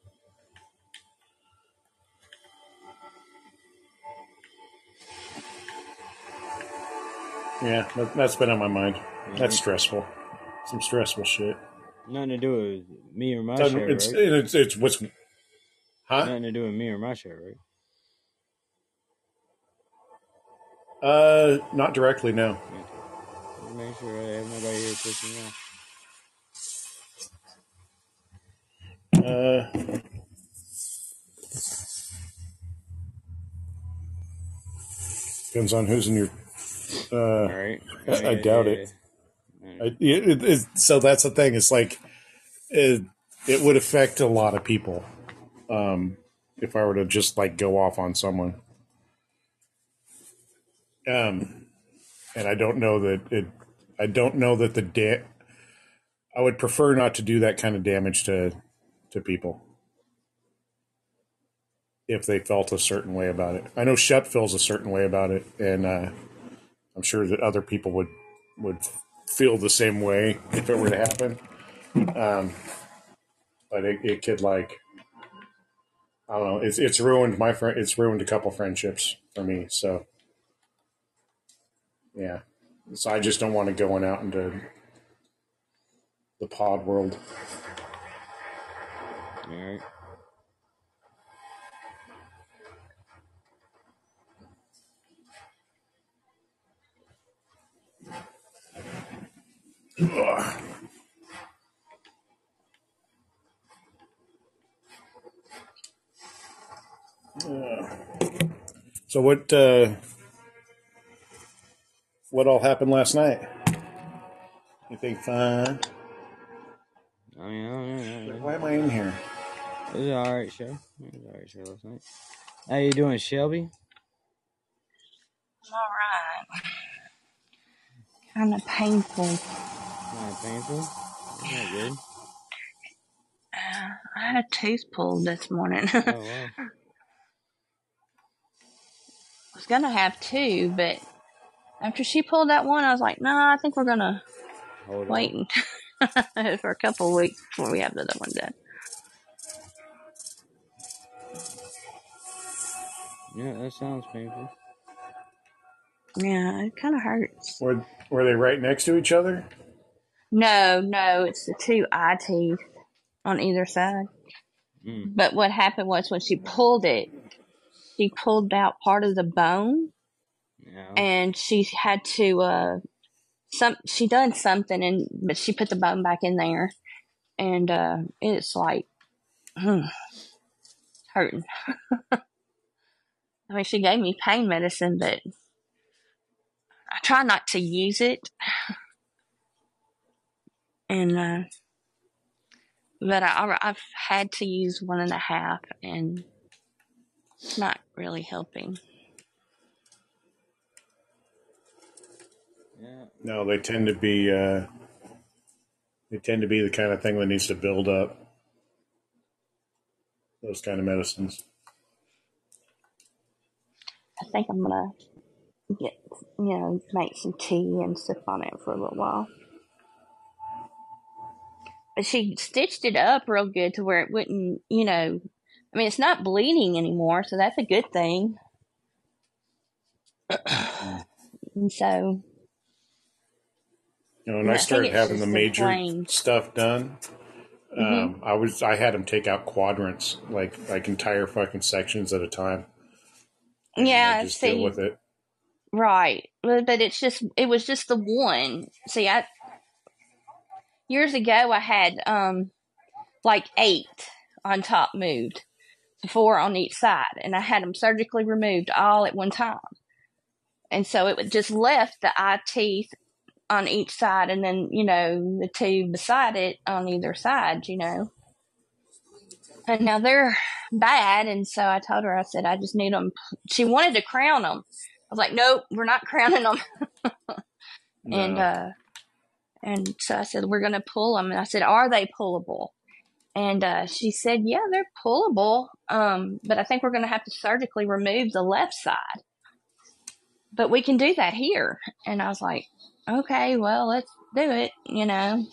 Yeah, that, that's been on my mind. Mm-hmm. That's stressful. Some stressful shit. Nothing to do with me or my It's, show, it's, right? it's, it's what's, huh? Nothing to do with me or my show, right? Uh, not directly, no. Okay. Make sure I have nobody here pushing me off. Uh, depends on who's in your. Uh, All right. I, Oh, I yeah, doubt yeah, it. yeah. I, it, it. So that's the thing. It's like it, it would affect a lot of people um, if I were to just like go off on someone. Um, and I don't know that it. I don't know that the da- I would prefer not to do that kind of damage to to people if they felt a certain way about it. I know Shep feels a certain way about it, and uh, I'm sure that other people would would feel the same way if it were to happen. Um, but it, it could like I don't know. It's it's ruined my friend. It's ruined a couple friendships for me. So yeah. So I just don't want to going out into the pod world. All right. Ugh. Uh, so what? Uh, what all happened last night? Anything fun? I mean, I don't know. I don't know. Why am I in here? It was an all right show. It was an all right show last night. How you doing, Shelby? All right. Kind of painful. Kind of painful. That's not good. Uh, I had a tooth pulled this morning. Oh, I wow. was going to have two, but after she pulled that one, I was like, no, nah, I think we're going to Hold wait on. for a couple of weeks before we have the other one done. Yeah, that sounds painful. Yeah, it kind of hurts. Were Were they right next to each other? No, no, it's the two eye teeth on either side. Mm. But what happened was when she pulled it, she pulled out part of the bone, Yeah. and she had to uh some she done something, and but she put the bone back in there, and uh it's like hmm, hurting. I mean, she gave me pain medicine, but I try not to use it, and uh but I, I've had to use one and a half, and it's not really helping. Yeah. No, they tend to be. Uh, they tend to be the kind of thing that needs to build up. Those kind of medicines. I think I'm gonna get, you know, make some tea and sip on it for a little while. But she stitched it up real good to where it wouldn't, you know, I mean, it's not bleeding anymore, so that's a good thing. And so, You know, when I I think started it's having the just major inflamed. stuff done, um, Mhm. I was I had them take out quadrants, like like entire fucking sections at a time. And I Yeah, just deal see, with it. right. But but it's just, it was just the one. See, I, years ago, I had, um, like eight on top moved, four on each side, and I had them surgically removed all at one time. And so it would just left the eye teeth on each side, and then, you know, the two beside it on either side, you know. And now they're bad, and so I told her, I said, I just need them. She wanted to crown them. I was like, nope, we're not crowning them. No. And uh, and so I said, we're going to pull them. And I said, are they pullable? And uh, she said, yeah, they're pullable, um, but I think we're going to have to surgically remove the left side. But we can do that here. And I was like, okay, well, let's do it, you know.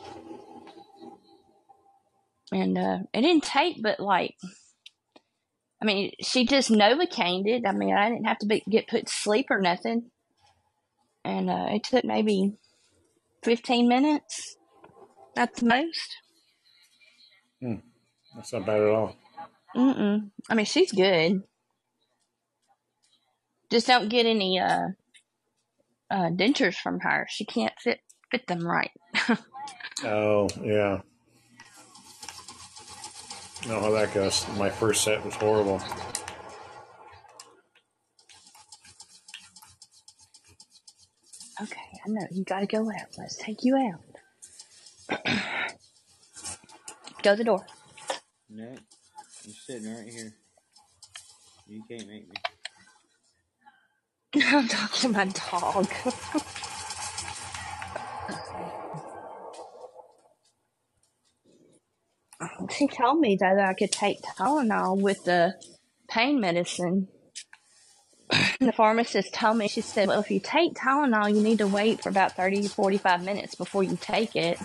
And uh, it didn't take but like, I mean, she just Novocained it. I mean, I didn't have to be, get put to sleep or nothing. And uh, it took maybe fifteen minutes at the most. Hmm. That's not bad at all. Mm-mm. I mean, she's good. Just don't get any uh, uh, dentures from her. She can't fit fit them right. Oh, yeah. I know how that goes. My first set was horrible. Okay, I know. You gotta go out. Let's take you out. Go to the door. No, I'm sitting right here. You can't make me. I'm talking to my dog. She told me though that I could take Tylenol with the pain medicine. The pharmacist told me, she said, well, if you take Tylenol, you need to wait for about thirty to forty-five minutes before you take it.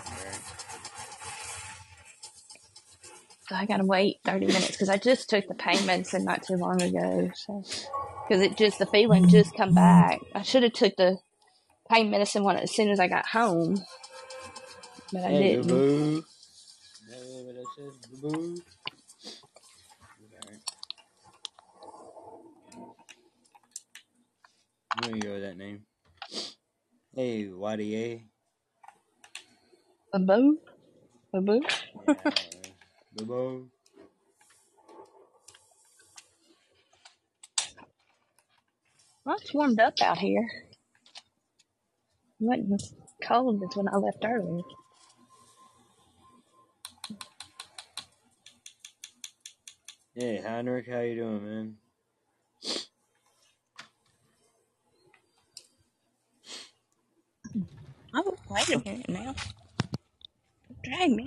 So I gotta wait thirty minutes because I just took the pain medicine not too long ago. So, because it just, the feeling just come back. I should have took the pain medicine one as soon as I got home, but I Hey, didn't. boo. That's what that says, boo. I'm gonna go with that name. Hey, Whitey A boo? A boo? A. Yeah, boo. Well, it's warmed up out here. It wasn't as cold as when I left earlier. Hey, Heinrich, how you doing, man? Oh, wait a minute now. Drag me.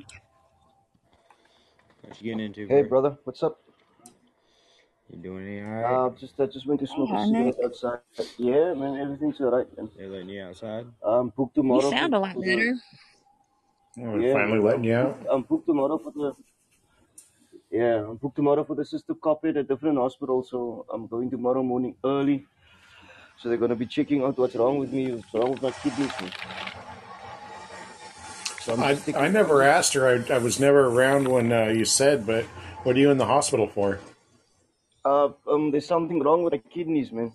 What you getting into, Hey, bro? brother, what's up? You doing any alright? Uh, just I just went to Hey, smoke a Heinrich. cigarette outside. Yeah, man, everything's alright, man. They letting you outside? I'm booked You tomorrow sound for, a lot for better. the. Oh, we're Yeah, finally man, letting I'm you out. booked. I'm booked tomorrow for the. Yeah, I'm booked tomorrow for the sister copy at a different hospital, so I'm going tomorrow morning early. So they're gonna be checking out what's wrong with me, what's wrong with my kidneys, man. So I'm I just I taking. never asked her. I, I was never around when uh, you said, but what are you in the hospital for? Uh, um, there's something wrong with my kidneys, man.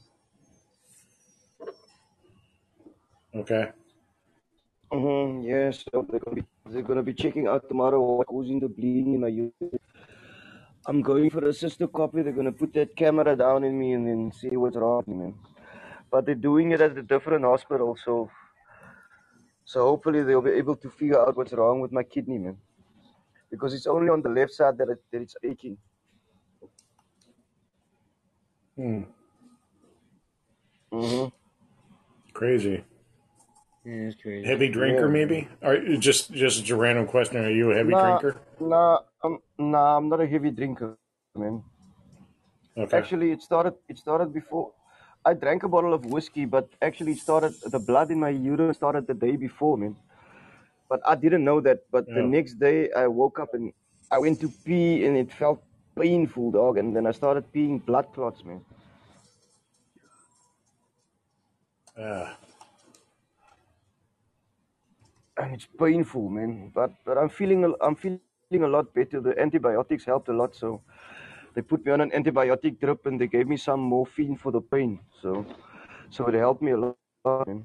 Okay. Mm-hmm. Yeah, so they're gonna be they're gonna be checking out tomorrow what's causing the bleeding in my urine. I'm going for a sister copy. They're gonna put that camera down in me and then see what's wrong with me, man. But they're doing it at a different hospital, so so hopefully they'll be able to figure out what's wrong with my kidney, man. Because it's only on the left side that, it, that it's aching. Hmm. Mm-hmm. Crazy. Yeah, that's crazy. Heavy drinker, Yeah, man. maybe? Or just just a random question. Are you a heavy Nah, drinker? nah, I'm nah, I'm not a heavy drinker, man. Okay. Actually, it started it started before. I drank a bottle of whiskey, but actually it started the blood in my urine started the day before, man. But I didn't know that. But the Oh. next day I woke up and I went to pee and it felt painful, dog. And then I started peeing blood clots, man. Uh, And it's painful, man. But but I'm feeling a- I'm feeling a lot better. The antibiotics helped a lot, so they put me on an antibiotic drip and they gave me some morphine for the pain. So so it helped me a lot, man.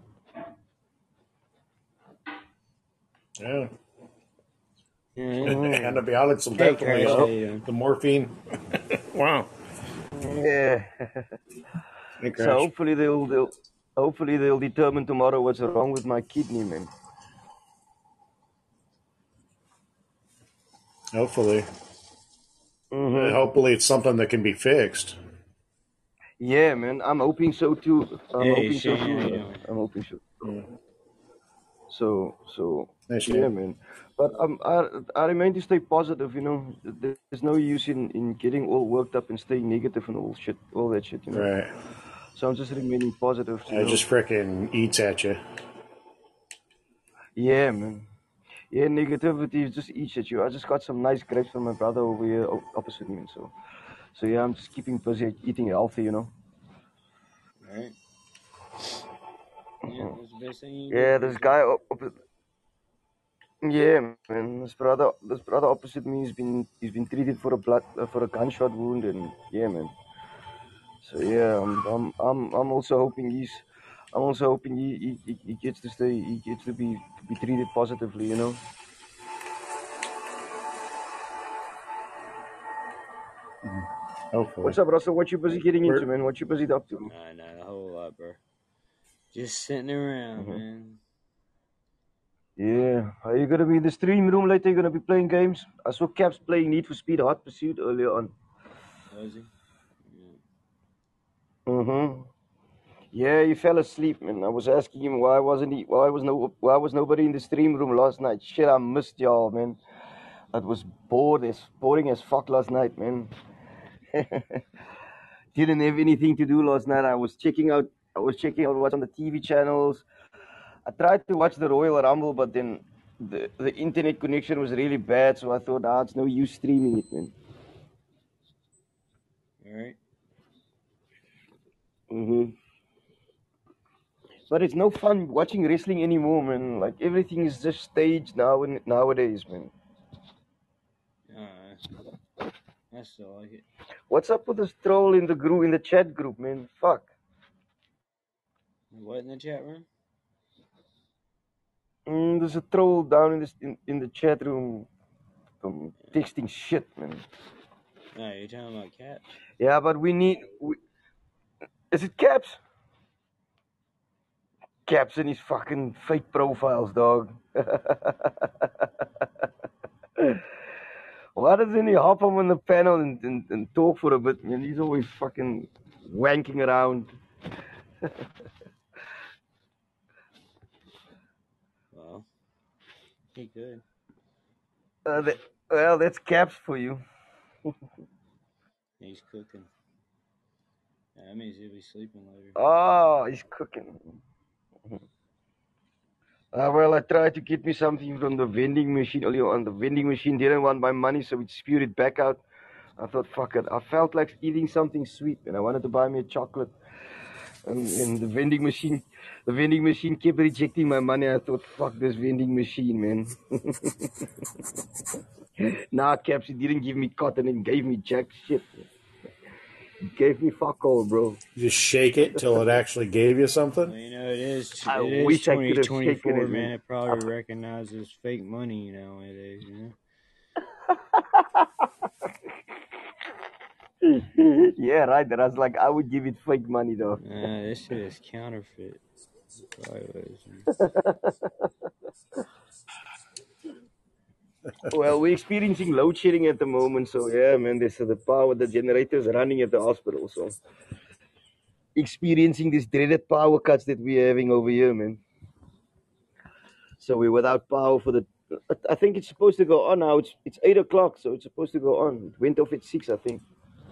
yeah. Yeah. Mhm. Antibiotics will Hey, definitely Curtis, how help. you doing? The morphine. Wow. Yeah. Hey, So Crash. hopefully they'll they'll hopefully they'll determine tomorrow what's wrong with my kidney, man. Hopefully. Mm-hmm. Hopefully it's something that can be fixed. Yeah, man. I'm hoping so too. I'm Hey, hoping so Shane, how you too. doing? I'm hoping so. Yeah. So, so Hey, yeah, Shane. man. But um, I, I remain to stay positive. You know, there's no use in, in getting all worked up and staying negative and all shit, all that shit. You know. Right. So I'm just remaining positive. You It know. just frickin' eats at you. Yeah, man. Yeah, negativity just eats at you. I just got some nice grapes from my brother over here o- opposite me, and so, so yeah, I'm just keeping busy eating healthy. You know. Right. Yeah, that's the best thing you can Yeah, do for this yourself. guy. Op- op- yeah, man. This brother, this brother opposite me, has been he's been treated for a blood uh, for a gunshot wound, and yeah, man. So yeah, I'm I'm I'm I'm also hoping he's I'm also hoping he, he, he gets to stay he gets to be to be treated positively, you know. Hopefully. What's up, Russell? What you busy getting into, man? What you busy up to? Nah, not a whole lot, bro. Just sitting around, Mhm. man. Yeah. Are you gonna be in the stream room later? You gonna be playing games? I saw Caps playing Need for Speed Hot Pursuit earlier on. Was he? Yeah. Mm-hmm. Yeah, he fell asleep, man. I was asking him why wasn't he why was no why was nobody in the stream room last night? Shit, I missed y'all, man. That was bored as boring as fuck last night, man. Didn't have anything to do last night. I was checking out I was checking out what's on the T V channels. I tried to watch the Royal Rumble, but then the, the internet connection was really bad, so I thought, ah, it's no use streaming it, man. All right. Mm-hmm. But it's no fun watching wrestling anymore, man. Like, everything is just staged now and nowadays, man. Uh, I still like it. What's up with this troll in the group, in the chat group, man? Fuck. What in the chat room? Mm, there's a troll down in this in, in the chat room, um, texting shit, man. No, you're talking about Caps? Yeah, but we need. We, is it Caps? Caps and his fucking fake profiles, dog. Why doesn't he hop up on the panel and, and, and talk for a bit, man? He's always fucking wanking around. Well, he could. Uh, that, well, that's Caps for you. He's cooking. Yeah, that means he'll be sleeping later. Oh, he's cooking. Uh, well, I tried to get me something from the vending machine earlier on. The vending machine didn't want my money, so it spewed it back out. I thought, fuck it. I felt like eating something sweet, and I wanted to buy me a chocolate. And, and the vending machine, the vending machine kept rejecting my money. I thought, fuck this vending machine, man. Nah, Caps, he didn't give me cotton and gave me jack shit. He gave me fuck all, bro. You just shake it till it actually gave you something? Well, you know, it is, I it is wish I could have twenty twenty-four, shaken it, man. man. It probably recognizes fake money nowadays, you know? Yeah, right. That I was like, I would give it fake money, though. Nah, this shit is counterfeit. Probably was. Well, we're experiencing load shedding at the moment, so yeah, man, there's uh, the power, the generators running at the hospital, so experiencing these dreaded power cuts that we're having over here, man. So we're without power for the. I think it's supposed to go on now. It's it's eight o'clock, so it's supposed to go on. It went off at six, I think.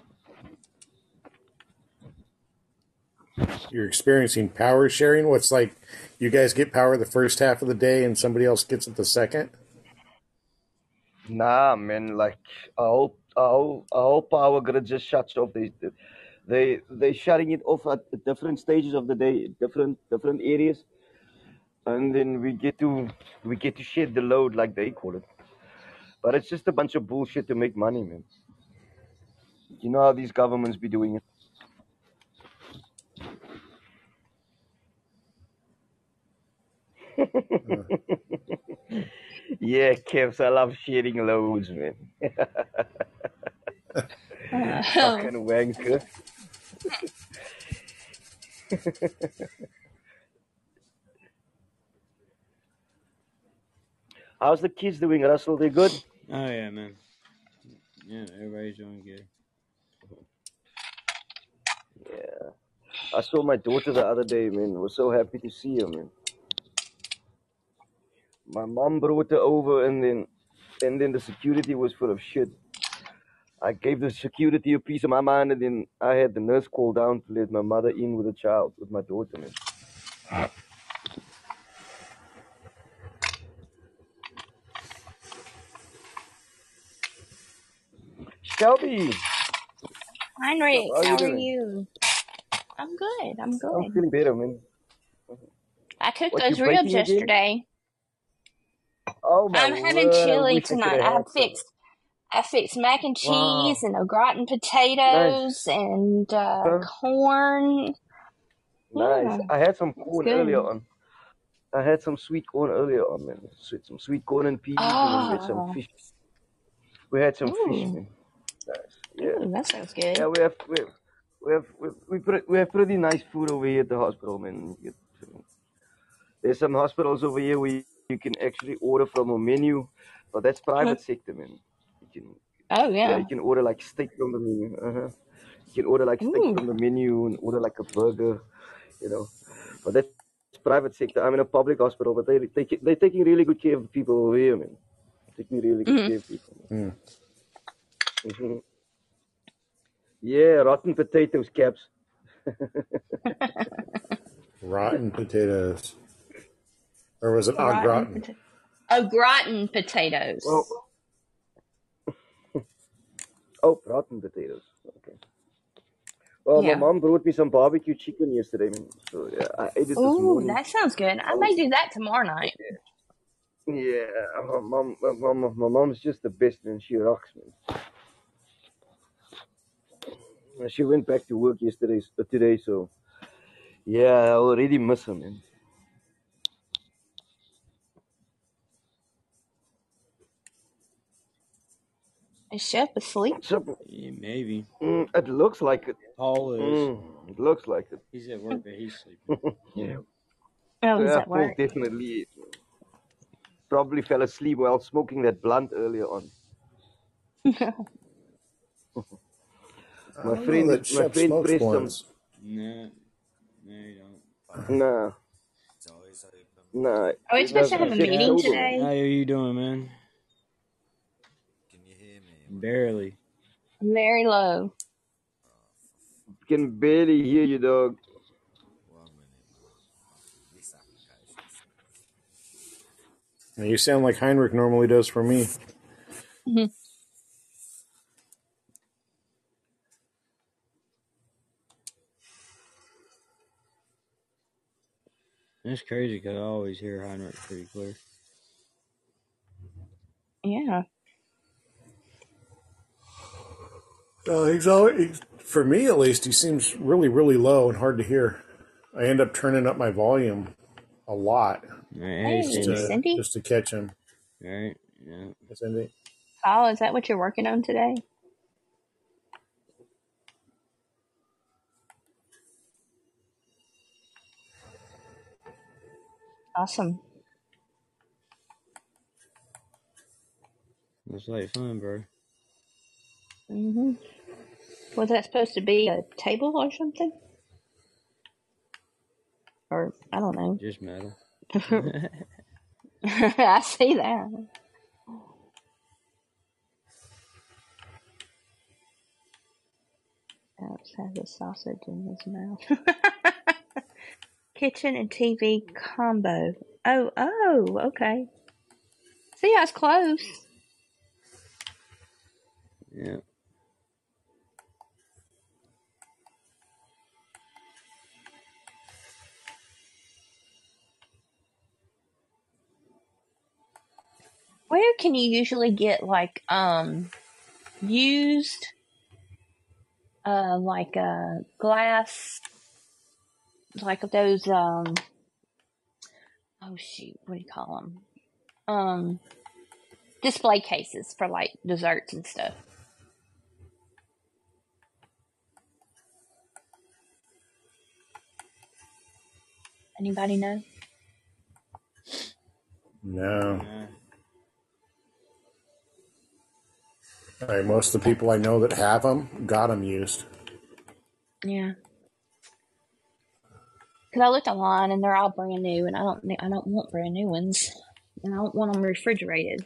You're experiencing power sharing? What's like, you guys get power the first half of the day and somebody else gets it the second? Nah, man, like our whole our whole, our whole power grid just shuts off. They they they shutting it off at different stages of the day, different different areas, and then we get to we get to shed the load like they call it. But it's just a bunch of bullshit to make money, man. You know how these governments be doing it. Yeah, Kevs, I love sharing loads, man. Fucking wanker. How's the kids doing, Russell? They good? Oh yeah, man. Yeah, everybody's doing good. Yeah. I saw my daughter the other day, man. I was so happy to see her, man. My mom brought her over, and then and then the security was full of shit. I gave the security a piece of my mind, and then I had the nurse call down to let my mother in with a child, with my daughter, man. Shelby, Heinrich, how are you how are doing? you? I'm good. I'm I'm good. feeling better, man. I cooked What, you those ribs baking again? yesterday. Oh my I'm having word! I chili wish I could tonight. have I had some. fixed I fixed mac and cheese Wow, and au gratin nice, potatoes and uh, huh? corn. Nice. Yeah, I had some it's corn earlier good. on. I had some sweet corn earlier on, man. Sweet, some sweet corn and peas, and then we had some Oh, fish. We had some fish, ooh, man. Nice. Yeah, ooh, that sounds yeah. good. We have we have we have we, we, pre- we have pretty nice food over here at the hospital, man. You get- There's some hospitals over here where you, you can actually order from a menu, but that's Uh-huh. private sector, man. You can Oh yeah, yeah. you can order like steak from the menu. Uh-huh. You can order like steak Ooh. from the menu and order like a burger, you know. But that's private sector. I'm in a public hospital, but they they they're taking really good care of people over here, man. Taking really good Mm. care of people. Mm. hmm Yeah, rotten potatoes, Caps. Rotten potatoes. Or was it au Rotten gratin? pota- au gratin potatoes. Well, oh, rotten potatoes. Okay. Well, my Yeah. mom brought me some barbecue chicken yesterday, man. So yeah, I ate it this Ooh, morning. that sounds good. I I may was, do that tomorrow night. yeah, my mom, my mom, my mom's just the best, man. She rocks, man. She went back to work yesterday, uh, today, so yeah, I already miss her, man. Is Chef asleep? So, Yeah, maybe. mm, it looks like it. Paul is. Mm, it looks like it. He's at work, but he's sleeping. Yeah, Oh, he's yeah, at Paul work. definitely probably fell asleep while smoking that blunt earlier on. I My don't know friend, that my Chef friend smokes pressed some. blunts. No, no, you don't. Nah, nah. Are we He supposed to doesn't. have He a said meeting sober, man. today? How are you doing, man? Barely. Very low. Can barely hear you, dog. Now, you sound like Heinrich normally does for me. Mhm. That's crazy because I always hear Heinrich pretty clear. Yeah. Uh, he's always, he's, for me at least, he seems really, really low and hard to hear. I end up turning up my volume a lot All right, hey, just Hey, Cindy. to Cindy. just to catch him. All right, yeah. Cindy. Paul, is that what you're working on today? Awesome. Looks like fun, bro. hmm Was that supposed to be a table or something? Or, I don't know. Just metal. I see that. Alex has a sausage in his mouth. Kitchen and T V combo. Oh, oh, okay. See, I was close. Yeah. Where can you usually get like um used uh like uh glass, like those um oh shoot, what do you call them? Um, display cases for like desserts and stuff. Anybody know? No. Nah. Right, most of the people I know that have them got them used. Yeah. Because I looked online and they're all brand new, and I don't I don't want brand new ones, and I don't want them refrigerated.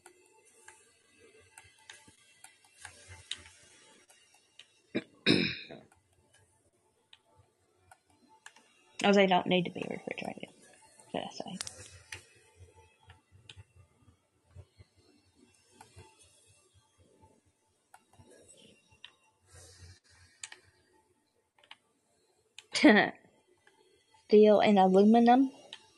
Or they don't need to be refrigerated, should I say. Steel and aluminum.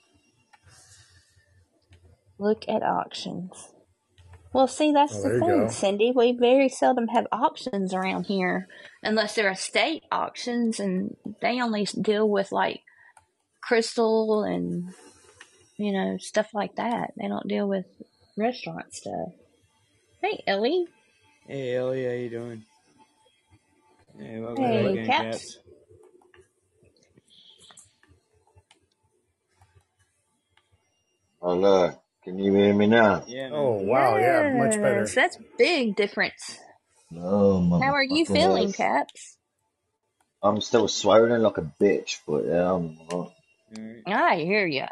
Look at auctions. Well, see, that's Oh, the there you thing, go. Cindy. We very seldom have auctions around here, unless they're estate auctions, and they only deal with, like, crystal and, you know, stuff like that. They don't deal with restaurant stuff. Hey, Ellie. Hey, Ellie, how you doing? Hey, welcome Hey, back in, Caps. Caps. Hello, can you hear me now? Yeah, man. Oh, wow, yeah, much better. Yes, that's big difference. No, How are you motherfucker. feeling, Caps? I'm still swollen like a bitch, but yeah, I'm alright. Alright. I hear ya.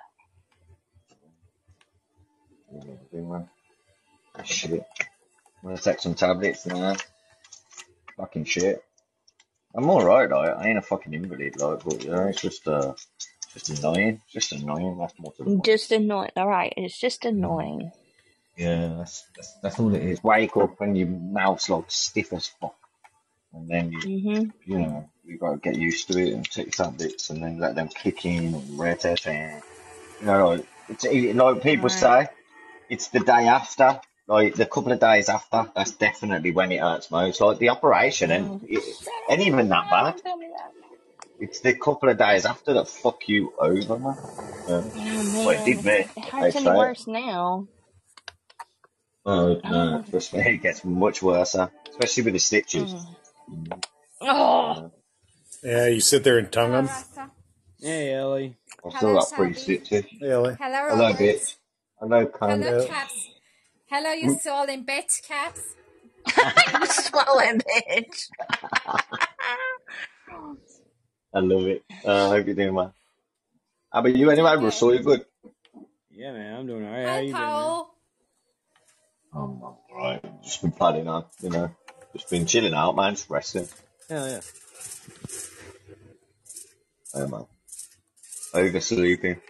Shit. I'm gonna take some tablets now. Fucking shit. I'm alright, like, I ain't a fucking invalid, like, but yeah, it's just, uh, just annoying. Just annoying, that's more to the point. Just annoying. All right, it's just annoying. Yeah, that's, that's, that's all it is. Wake up and your mouth's like stiff as fuck. And then you, Mhm. you know, you gotta get used to it and take tablets and then let them kick in and red and you know, like, it's, it, like people Right. say, it's the day after, like the couple of days after, that's definitely when it hurts most. Like the operation, and Oh, it shut ain't up. even that bad. Don't tell me that. It's the couple of days after that fuck you over, man. Yeah. Oh, Well, it man. did me. It I'd hurts any say it. worse now. Oh, no, Oh. trust me, it gets much worse, huh? Especially with the stitches. Mm. Mm, Oh. yeah. Yeah, you sit there and tongue Hello, them. Rasta. Hey, Ellie. I've still Hello, got three Shelby. stitches. Really? Hello, Hello, Robert. bitch. Hello, cunt. Hello, Yeah. Caps. Hello, you swollen bitch, Caps. You swollen bitch. I love it. Uh, I hope you're doing well. How about you Doing anyway, good. Russell? You good? Yeah, man, I'm doing alright. How Hi, you been, man? Paul. Um, I'm alright. Just been plodding on, you know. Just been chilling out, man. Just resting. Hell yeah. Yeah, man. Oversleeping.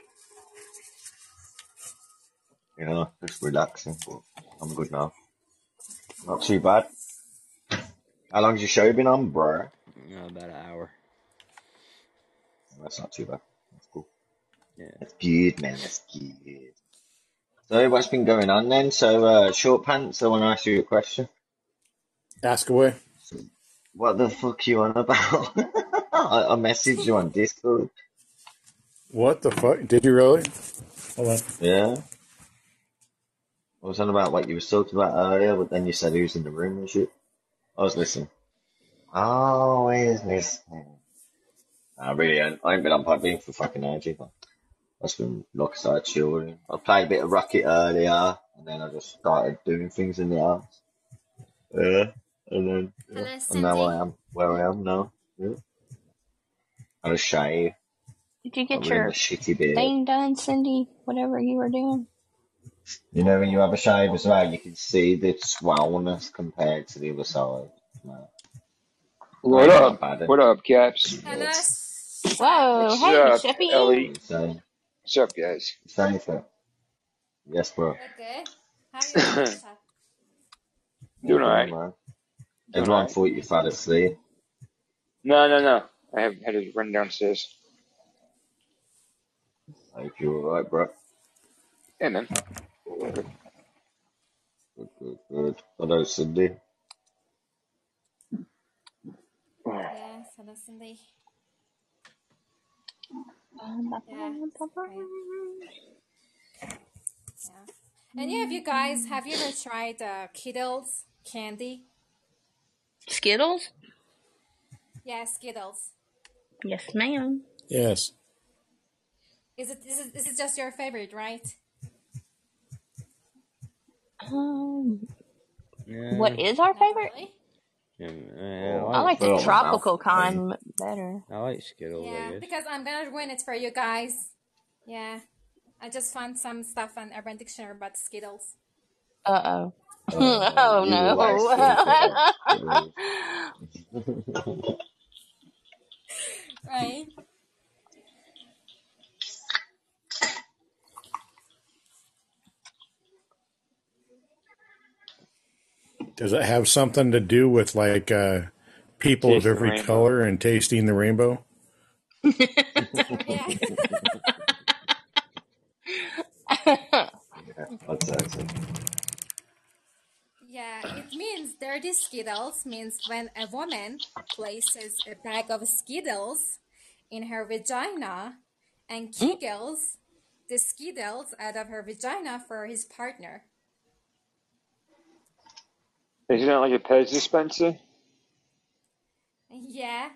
You know, just relaxing. But I'm good now. Not too bad. How long's your show been on, bro? Uh, about an hour. That's not too bad. That's cool. Yeah. That's good, man. That's good. So, what's been going on then? So, uh, short pants, I want to ask you a question. Ask away. What the fuck you on about? I, I messaged you on Discord. What the fuck? Did you really? Hold on. Yeah. I was on about what you were talking about earlier, but then you said who's in the room and shit. I was listening. Always listening. I really ain't, I ain't been on Podbean for fucking ages. I've just been like I said, chilling. I played a bit of Rocket earlier, and then I just started doing things in the house. Yeah. And then, yeah. Hello, And now I Cindy. am where I am now. Yeah. I had a shave. Did you Got get rid of my your shitty beard. thing done, Cindy? Whatever you were doing? You know, when you have a shave as well, you can see the swollenness compared to the other side. No, What ain't up? that bad. What up, Caps? Hello, Yeah. Shep. Whoa. What's Hey, up, Sheppy. Ellie? Same, What's up, guys? same thing. Yes, bro. Okay. How are you doing, Shep? Doing Yeah, alright. man. Doing Everyone alright. thought you fell asleep. No, no, no. I have had to run downstairs. I hope you're alright, bro. Yeah, man. Good, good, good. Hello, Cindy. Yes, hello, Cindy. Yeah. Great. Yeah. Any of you guys, have you ever tried uh, Skittles candy? Skittles? Yeah, Skittles. Yes, ma'am. Yes. Is it is it, is it just your favorite, right? Um, What Yeah, is our Not favorite? really. yeah, man, I Oh, I like like the fill my mouth. tropical kind better. I like Skittles. I Yeah, guess. because I'm gonna ruin it for you guys. Yeah, I just found some stuff on Urban Dictionary about Skittles. Uh oh. Uh, Oh you will like no. Skittles. Right? Does it have something to do with like uh, people of Tasting the every rainbow. color and tasting the rainbow? Yeah. Yeah, I'd say so. Yeah, it means dirty Skittles means when a woman places a bag of Skittles in her vagina and kegels the Skittles out of her vagina for his partner. Isn't that like a Pez dispenser? Yeah,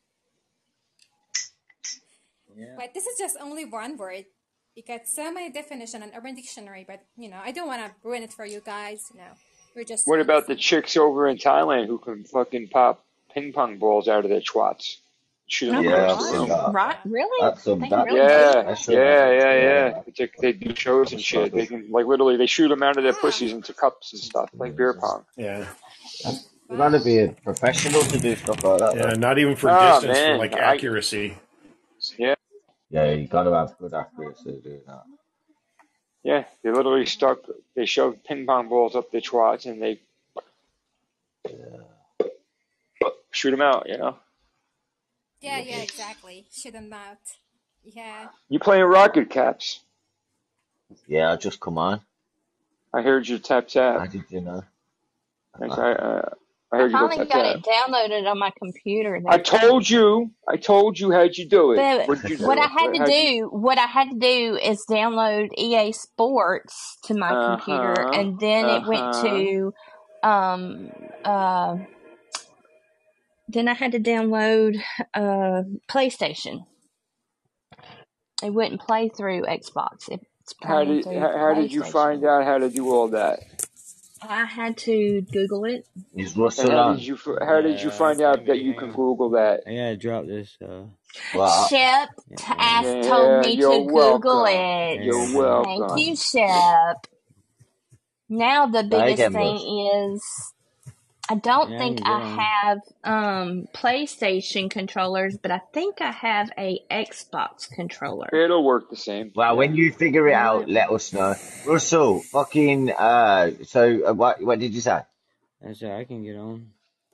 Yeah. but this is just only one word. You got so many definitions on Urban Dictionary, but you know, I don't want to ruin it for you guys. You know, we're just What about the innocent. chicks over in Thailand who can fucking pop ping pong balls out of their twats? Shoot them Oh my Yeah, I've across the seen room. god. that. Right? Really? That's some They can that really do that's Yeah, that? special, yeah, man. yeah, Yeah, yeah. It's like they do shows and that's shit. They like can like literally they shoot them out of their Ah, pussies into cups and stuff like beer pong. Yeah. you gotta wow. be a professional to do stuff like that, Yeah, though. not even for Ah distance, for man, like I accuracy. yeah Yeah, you gotta have good accuracy to do that. yeah. They literally stuck. They shoved ping pong balls up their twats and they Yeah. shoot them out. You know. Yeah, yeah, exactly. Shoot them out. Yeah. You playing Rocket Caps? Yeah, just come on. I heard you tap How tap. did you know? I, I, uh, I I heard you go finally tap got tap. it downloaded on my computer I there. told you. I told you how'd you do it. But What'd you what do? I had What, to how'd you? do, what I had to do is download E A Sports to my Uh computer, huh. and then Uh it went huh. to, um, uh, then I had to download uh PlayStation. It wouldn't play through Xbox. It's How playing did through how, how did you find PlayStation. out how to do all that? I had to Google it. Is And Russell how did on? you f- how did you Yeah, find out maybe. that you Hang can on. Google that? I gotta drop this. Uh, Well, I, Shep yeah, asked, yeah, told Yeah, me you're to Google welcome. it. You're hang on. Thank welcome. you, Shep. Now the say biggest again, thing Russ. is I don't Yeah, I think can get I on. have um PlayStation controllers, but I think I have a Xbox controller. It'll work the same. Well, Yeah. when you figure it Will out, it? let us know. Russell, fucking, uh, so, uh, what, what did you say? That's it. I can get on.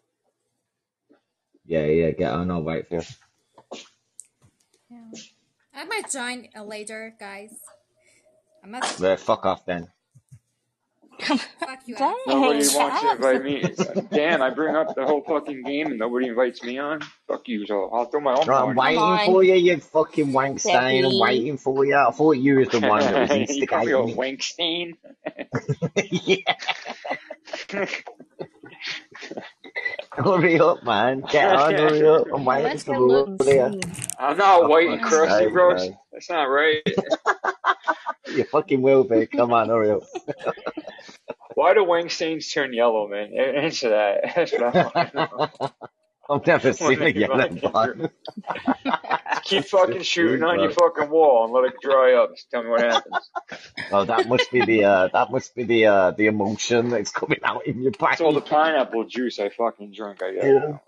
Yeah, yeah, get on, I'll wait for you. Yeah. I might join uh, later, guys. I'm not. Well, fuck off then. Fuck you, Alex. Nobody Dang, wants to Shep. invite me. Damn, I bring up the whole fucking game and nobody invites me on. Fuck you, so I'll throw my own Right, I'm party. Come waiting on, for you, you fucking wank stain. I'm Steppy. waiting for you. I thought you was the one that was You call me a instigating wank stain? it. Yeah. Hurry up, man. Get on, hurry up. I'm Now waiting let's for go look and you. see. I'm not For white and fuck's crusty, sake, bro. man. That's not right. You fucking will be. Come on, hurry up. Why do wank stains turn yellow, man? Answer that. That's what I want to know. I've never When seen a they yellow fucking one. keep fucking shooting on your Bro. fucking wall and let it dry up. Just tell me what happens. Oh, that must be the uh, that must be the uh, the emulsion that's coming out in your It's all the brain. pineapple juice I fucking drink, I guess. Yeah.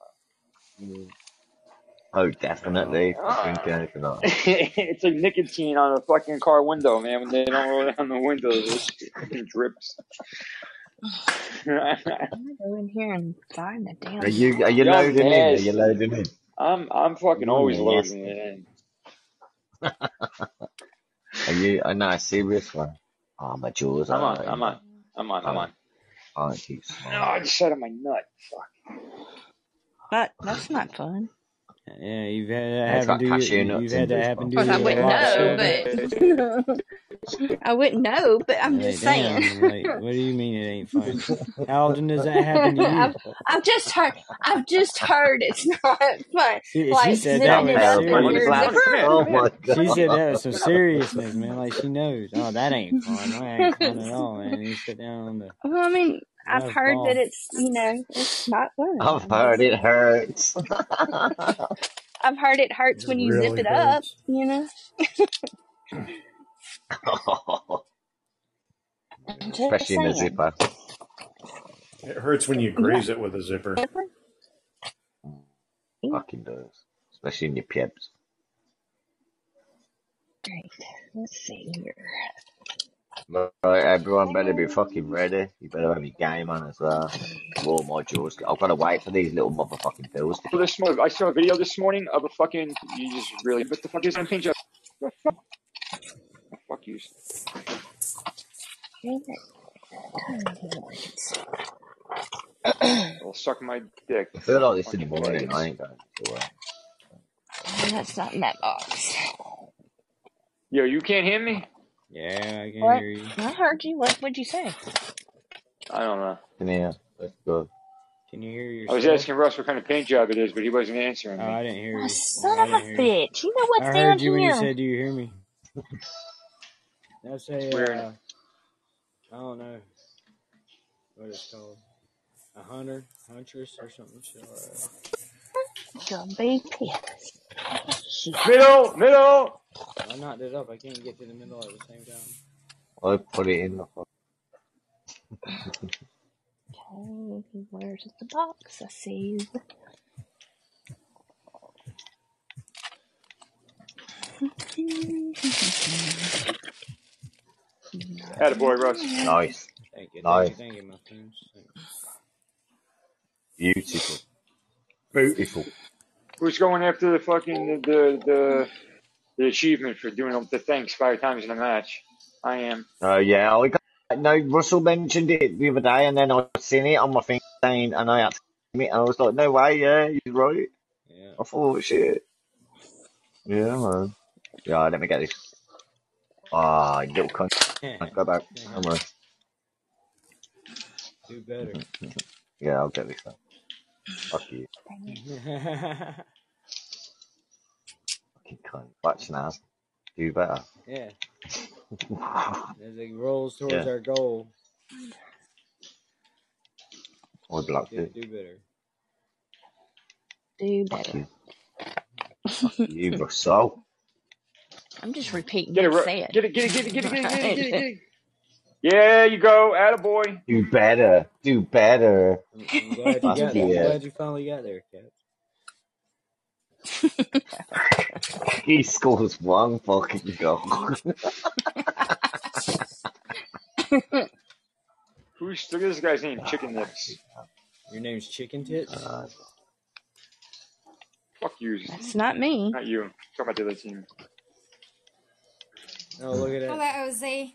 Oh, definitely. Ah. Drink anything else. It's like nicotine on a fucking car window, man. When they don't roll down the windows, it fucking drips. I'm gonna go in here and find the damn Are you are you Yo, loading in? Are you nasty. loading in? I'm I'm fucking You're always loading nasty. it in. Are you a nice serious one? Oh, my jaws I'm are on, hurting, I'm man. on, I'm on, I'm Oh, on. aren't you No, smart? I just sat on my nut. Fuck. But that's not fun. Yeah, you've had that Yeah, it's happen got to you. cashew nuts You've in had that this happen one. to Of course, I you a wouldn't lot, know, Shelby. but I wouldn't know. But I'm Hey, just saying. damn! Like, what do you mean it ain't fun? How often does that happen to you? I've, I've just heard. I've just heard it's not fun. She, she Like said that zipping with it up in Terrible your seriousness. class. zipper. Oh Come here, my She god. said that with some seriousness, man. Like she knows. Oh, that ain't fun. That ain't fun at all, man. You sit down on the. Well, I mean, I've Nice heard that ball. it's, you know, it's not fun. I've I'm heard just it hurts. I've heard it hurts It when you zip really it up, hurts. you know. I'm just Especially in the saying. zipper. It hurts when you Yeah. graze it with a zipper. Yeah. Fucking does. Especially in your pubes. Right. Let's see here. Right, everyone better be fucking ready. You better have your game on as well. War modules. I've got to wait for these little motherfucking bills to come. This morning, I saw a video this morning of a fucking. You just really. What the fuck is that paint job? What the fuck? Oh, fuck you. It'll suck my dick. I feel like this in the Fucking morning. I idiots. ain't going to work. That's not in that box. Yo, you can't hear me? Yeah, I can What? hear you. I heard you. What would you say? I don't know. Come here. Let's go. Can you hear I was yourself? asking Russ what kind of paint job it is, but he wasn't answering Oh, me. I didn't hear Oh, you. son I of a didn't hear you. bitch. You know what's I down heard you when you here? said, "Do you hear me?" That's a, It's weird. uh, I don't know what it's called. A hunter, huntress, or something. So, uh, Don't be pissed. Shit. Middle, middle. I knocked it up. I can't get to the middle at the same time. I put it in the fuck. Okay, where's the box? I see you. Attaboy, Russ. Nice. Thank you, thank Nice. you, thank you, my friends. Beautiful. Beautiful. Who's going after the fucking the the the, the achievement for doing the thanks five times in a match? I am. Oh, uh, yeah. I got, no, Russell mentioned it the other day, and then I seen it on my thing, saying, and I had to see it, and I was like, no way, yeah, he's right. Yeah. I thought, shit. Yeah, man. Yeah, let me get this. Ah, you little cunt. Go back. Come on. Do better. Yeah, I'll get this one. Fuck you. Fucking cunt. Watch now. Do better. Yeah. As it rolls towards Yeah. our goal, I blocked do, it. do better. Do Fuck better. you. Fuck you, Russell. I'm just repeating Get it, what Ru- you said. get it, get it, get it, get it, get it, get it, get it, get it. Yeah, you go, attaboy. Do better. Do better. I'm, I'm glad you Fuck got there. I'm yeah. glad you finally got there, Cap. He scores one fucking goal. Who's look at this guy's name? Chicken Nips. Your name's Chicken Tits? Uh, Fuck you. That's not me. Not you. Talk about the other team. Oh, look at Hello, that. Jose.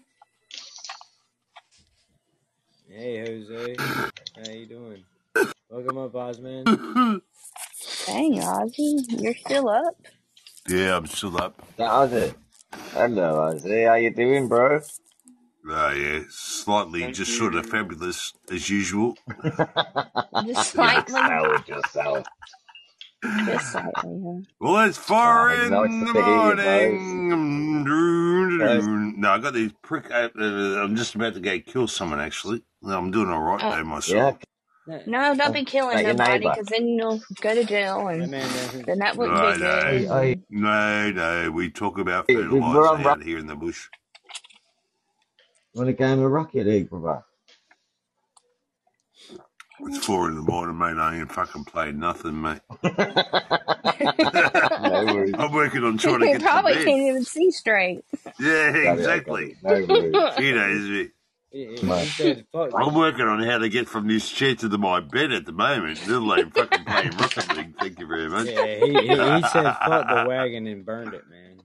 Hey, Jose. How you doing? Welcome up, Osman. Dang, Ozzy, you're still up? Yeah, I'm still up. that was it. Hello, Ozzy. How you doing, bro? Ah, yeah, slightly Thank just you. sort of fabulous as usual. Just slightly? Sell yourself. Just slightly, huh? Well, it's four Oh, in nice the to hear you, morning. Nice. No, I got these prick. Uh, uh, I'm just about to go kill someone. Actually, no, I'm doing all right Oh. though Yeah. myself. No, No, don't be killing Like your nobody, neighbour. because then you'll go to jail, my and man doesn't. then that wouldn't No, be no, Hey, good. hey, no, no. We talk about hey, we're fertilizer on Rock- out here in the bush. want a game of Rocket League, brother? It's four in the morning, mate. I ain't fucking played nothing, mate. No worries. I'm working on trying to You get to probably bed. can't even see straight. Yeah, Got it, I got exactly. it. No worries. You know, is it? He, he, Come on. he said, fuck. I'm working on how to get from this chair to the, my bed at the moment. Little like fucking playing Rocket League. Thank you very much. Yeah, he, he, he said, fuck the wagon and burned it, man.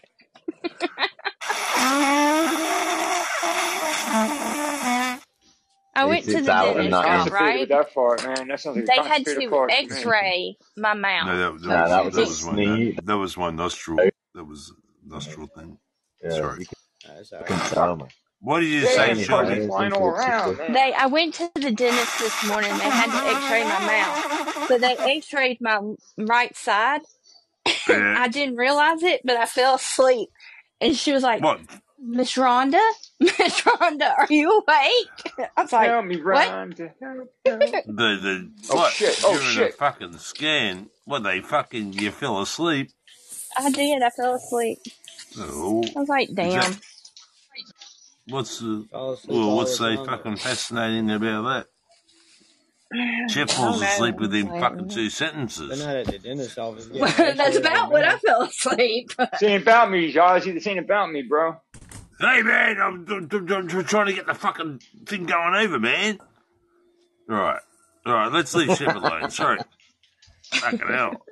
I went It's, to it's the out and dentist, not in. Constipated right? with that fart, man. That sounds like a They had constipated to fart to me. x-ray my No, mouth. that, that, No, was, that was that a was my sneeze. that, that was my nostril. That was nostril thing. Yeah, Sorry. you can, That's you all can right. tell, man. What did you Yeah, say, Turn his your farts Shelby? are nose flying into all a around, sister. man. They, I went to the dentist this morning. They had to x-ray my mouth. So they x-rayed my right side. Yeah. I didn't realize it, but I fell asleep. And she was like, What? Miss Rhonda? Rhonda, are you awake? I was like, Help me, what? Rhonda. Help, help. The, the, Oh what? shit! Oh During a shit! fucking scan, what, they fucking, you fell asleep? I did. I fell asleep. Oh, I was like, is damn. that, what's the, Fall asleep well, all what's the so time. fucking fascinating about that? Chef I falls don't asleep know. within Like, fucking two They're sentences. not at the dentist office getting an that's X-ray of their about what I mouth. fell asleep. This ain't about me, Ozzy. This ain't about me, bro. Hey man, I'm, I'm, I'm, I'm trying to get the fucking thing going over, man. All right, all right, let's leave Chef alone. Sorry, fucking hell.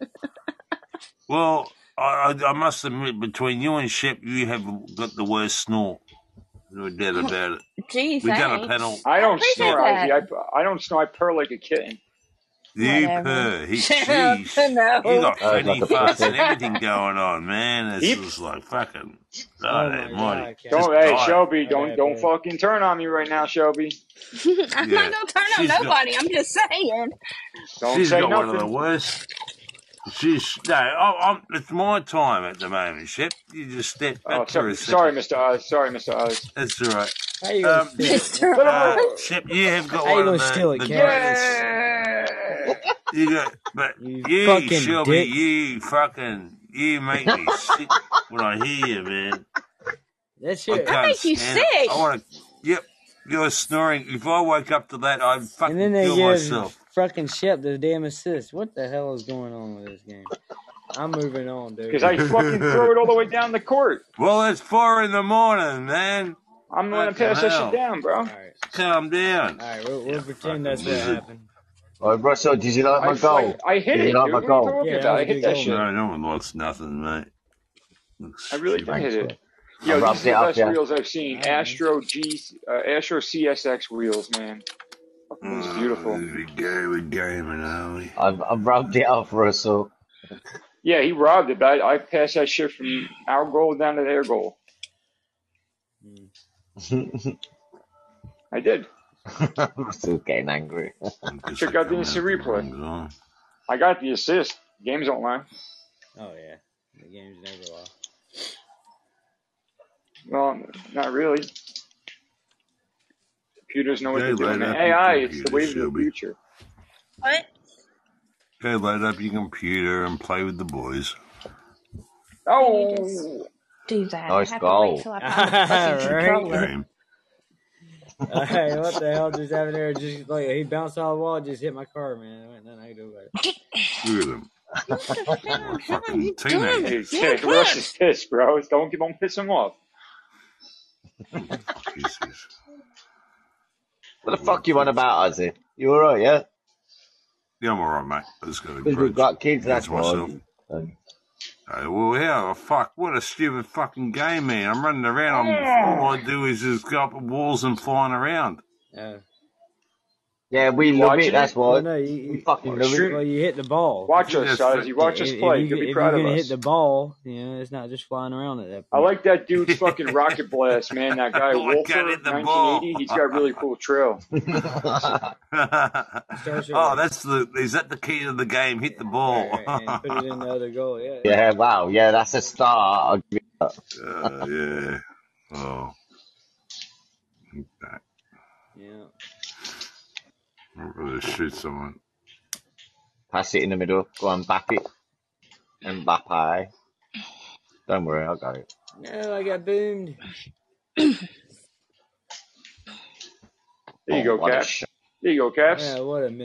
Well, I, I, I must admit, between you and Shep, you have got the worst snore. No doubt about it. Gee, We done a thanks. panel. I I don't appreciate snore, Ozzy. that. I, I don't snore. I purr like a kitten. You Whatever. purr. He, Shut up. sheesh. You No. got Sounds fanny like a farts pussy. and everything going on, man. It's He, just like fucking, Oh God my almighty. god, Just don't. Captain. Hey, die. Shelby, My don't bad, don't bud. fucking turn on me right now, Shelby. I'm Yeah. not gonna turn on She's got, nobody. I'm just saying. Don't she's say got one of the nothing. worst. She's, no, I, I'm, it's my time at the moment, Shep. You just step Oh, back for so, a sorry, second. Mister Oz. Sorry, Mister Oz. That's all right. How you gonna Um, steal it? Mister What? uh, Oz. Shep, you have got How you one gonna of the, steal it, the Cap? greatest. Yeah. You got, but You you, fucking Shelby, dick. you fucking, you make me sick when I hear you, man. That I shit. I can't make you stand it. sick. I want to, yep, you're snoring. If I woke up to that, I'd And fucking then they kill give myself. fucking Shep the damn assist. What the hell is going on with this game? I'm moving on, dude. Because I fucking throw it all the way down the court. Well, it's four in the morning, man. I'm the one that Fucking pass that shit hell. down, bro. Alright. Calm down. Alright, we'll, You we'll pretend that's fucking what lizard. happened. Oh, Russell, did you like I my fight. goal? I hit Did you it, like dude. my What are you goal? talking Yeah, that about? was I a hit good that goal, shit. man. No, no one likes nothing, mate. Looks I really stupid. I hit it. I Yo, these rubbed are the it off best you. wheels I've seen. Alright, man. Astro G, uh, Astro C S X wheels, man. Fucking thing's Oh, beautiful. there we go. We're gaming, are we? I've, I've rubbed it off, Russell. Yeah, he robbed it, but I, I passed that shit from our goal down to their goal. Mm. I did. Russell's getting angry. I guess Check I out the come instant out the replay. wrong zone. I got the assist. Games don't lie. Oh yeah, the game's never lie. Well, not really. Computers know what Go they're doing. load up A your I, it's the computer, wave of the Shelby. future. What? Go load up your computer and play with the boys. Oh, Do that. Nice I have to wait goal. till I find the fucking Right? controller. Game. Uh, hey, what the hell just happened there? Just like he bounced off the wall, and just hit my car, man. There ain't nothing I can do about it. Look at them. What the hell? They're How are fucking you doing? teenagers. hey, You're hey, Russ pissed. is pissed, bro. Don't don't piss him off. What the fuck is this? What the fuck you on about, Ozzy? You alright, yeah? Yeah, I'm alright, mate. I just got to Because we've grudge, got kids, grudge that's why. myself. Um, Hey, well, how the fuck? What a stupid fucking game, man. I'm running around. I'm, all I do is just go up the walls and flying around. Uh, yeah, we You love watching it, that's it? well, why. no, you, We you, fucking Oh, love it. stream. well, you hit the ball. I Watch think us, that's Ozzy. fa- Watch If, us if play. you You'll be if proud you're of gonna hit us. the ball, you know, it's not just flying around at that I point. like that dude's fucking rocket blast, man. That guy Oh, I can't Wolfer, hit the nineteen ball. eighty. He's got a really cool trail. Starts with Oh, like, that's the, is that the key to the game? Hit the right, ball. right, and put it in the other goal. Yeah, Yeah, wow, yeah, that's a start. I'll give you that. uh, yeah. Oh, okay. yeah. I'm going to shoot someone. Pass it in the middle. Go on, back it. Mbappe. Don't worry, I got it. No, I got boomed. There you Oh, go, what a Caps. shot. There you go, Caps. Yeah, what a miss.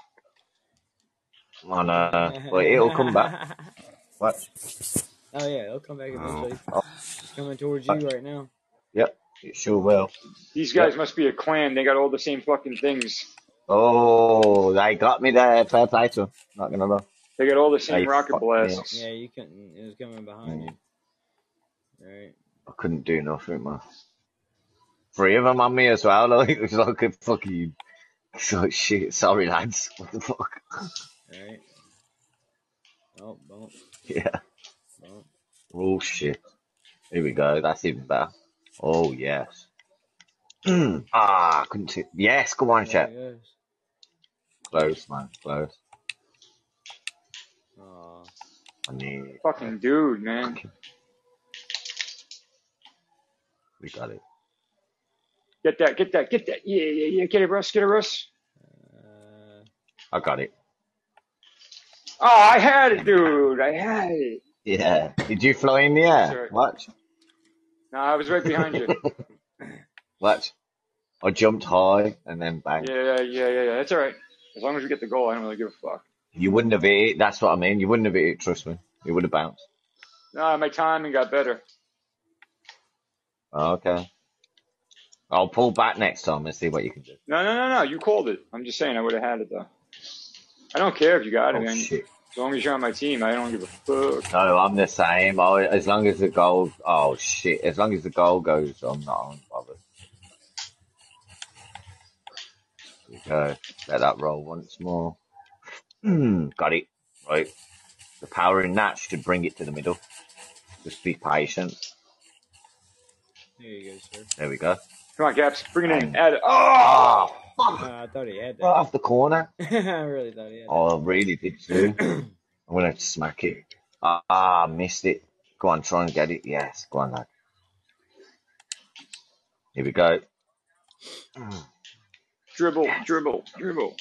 On, uh, well, it'll come back. What? Oh yeah, it'll come back Oh, eventually. Oh, It's coming towards you right now. yep, it sure will. These guys Yep. must be a clan. They got all the same fucking things. Oh, they got me there. Fair play to 'em. Not gonna lie. They got all the They same rocket fucked me up. blasts. Yeah, you couldn't. It was coming behind Mm, you. Right. I couldn't do nothing, man. Three of them on me as well. Like, it was like a fucking. It's like shit. Sorry, lads. What the fuck? Right. Oh, bump, Yeah. bump. Oh shit. Here we go. That's even better. Oh yes. ah, I couldn't see. Yes, come on, There Shep. it goes. Close, man. Close. Aw. I need. Fucking dude, man. We got it. Get that, get that, get that. Yeah, yeah, yeah. Get it, Russ. Get it, Russ. I got it. Oh, I had it, dude. I had it. Yeah. Did you fly in the That's air? all right. Watch. No, I was right behind you. Watch. I jumped high and then bang. Yeah, yeah, yeah, yeah, yeah. That's all right. As long as we get the goal, I don't really give a fuck. You wouldn't have hit it. That's what I mean. You wouldn't have hit it. Trust me. It would have bounced. No, my timing got better. Okay. I'll pull back next time and see what you can do. No, no, no, no. You called it. I'm just saying I would have had it though. I don't care if you got it, Oh man. shit. As long as you're on my team, I don't give a fuck. No, I'm the same. I, as long as the goal. Oh shit. As long as the goal goes, I'm not bothered. Okay. Let that roll once more. Got it. Right. The power in that should bring it to the middle. Just be patient. There you go, sir. There we go. Come on, Caps. Bring it in. Bang. Add it. Oh! Oh, fuck. Uh, I thought he had Right that. off the corner. I really thought he had that. Oh, I really did too. I'm going to smack it. Ah, ah, missed it. Go on, try and get it. Yes, go on, lad. Here we go. Dribble, dribble, dribble.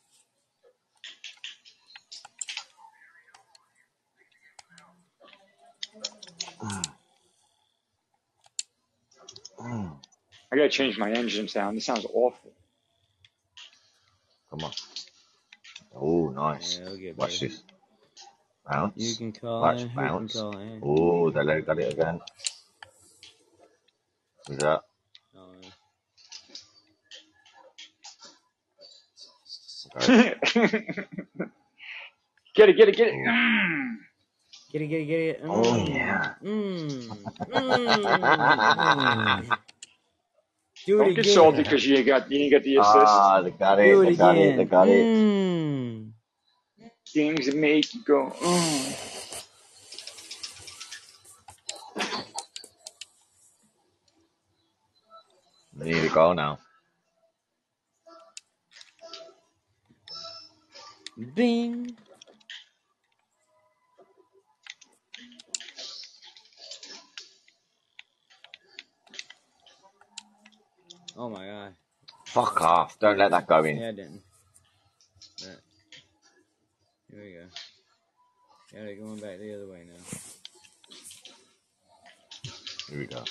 I gotta change my engine sound. This sounds awful. Come on. Oh, nice. Yeah, it'll get Watch better. this. Bounce. You can call Watch, in. Who can bounce. call in? Oh, they let- got it again. Who's that? Oh, yeah. Okay. Get it, get it, get it. Oh, Mm. Get it, get it, get it. oh Mm, yeah. mm, mm, mm. Do Don't it get salty again. because you got you didn't get the assist. Ah, they got Do it. it They got it. They again. got it. Mm. Things that make you go. Mm. They need to go now. Bing. Oh my god. Fuck off. Don't let that go in. Yeah, I didn't. But, here we go. Got it going back the other way now. Here we go.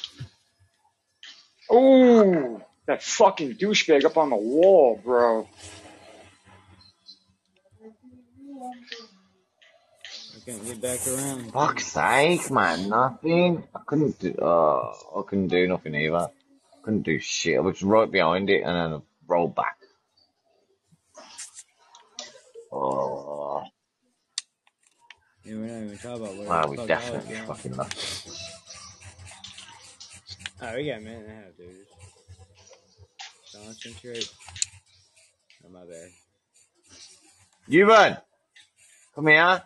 Oh, that fucking douchebag up on the wall, bro. I can't get back around. Fuck's sake, man. Nothing. I couldn't do. Oh, I couldn't do nothing either. Couldn't do shit. I was right behind it and then I rolled back. Oh, Yeah, we're not even talking about where wow, the we fuck I was definitely going. fucking lost. Oh, we got a minute and a half, dude. Concentrate. Oh, my bad. Ewan, come here.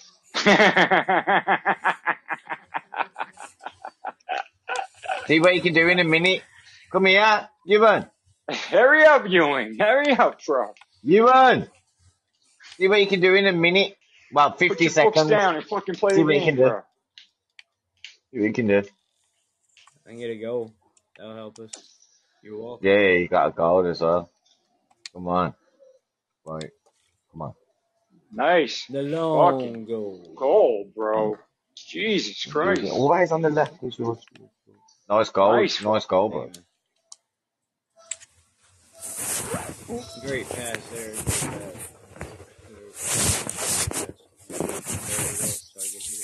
See what you can do in a minute. Come here, Ewan. Hurry up, Ewing. Hurry up, bro. Ewan. See what you can do in a minute. Well, Put fifty your books seconds. down and fucking play See the what you can game, do. bro. See what you can do. I can get a goal. That'll help us. You're welcome. Yeah, you got a goal as well. Come on. Right. Come on. Nice. The long Fucking goal. goal, bro. Jesus Christ. Always on the left is yours. Nice goal. Nice. Nice goal, bro. Great pass there. Great pass. So I can hit it.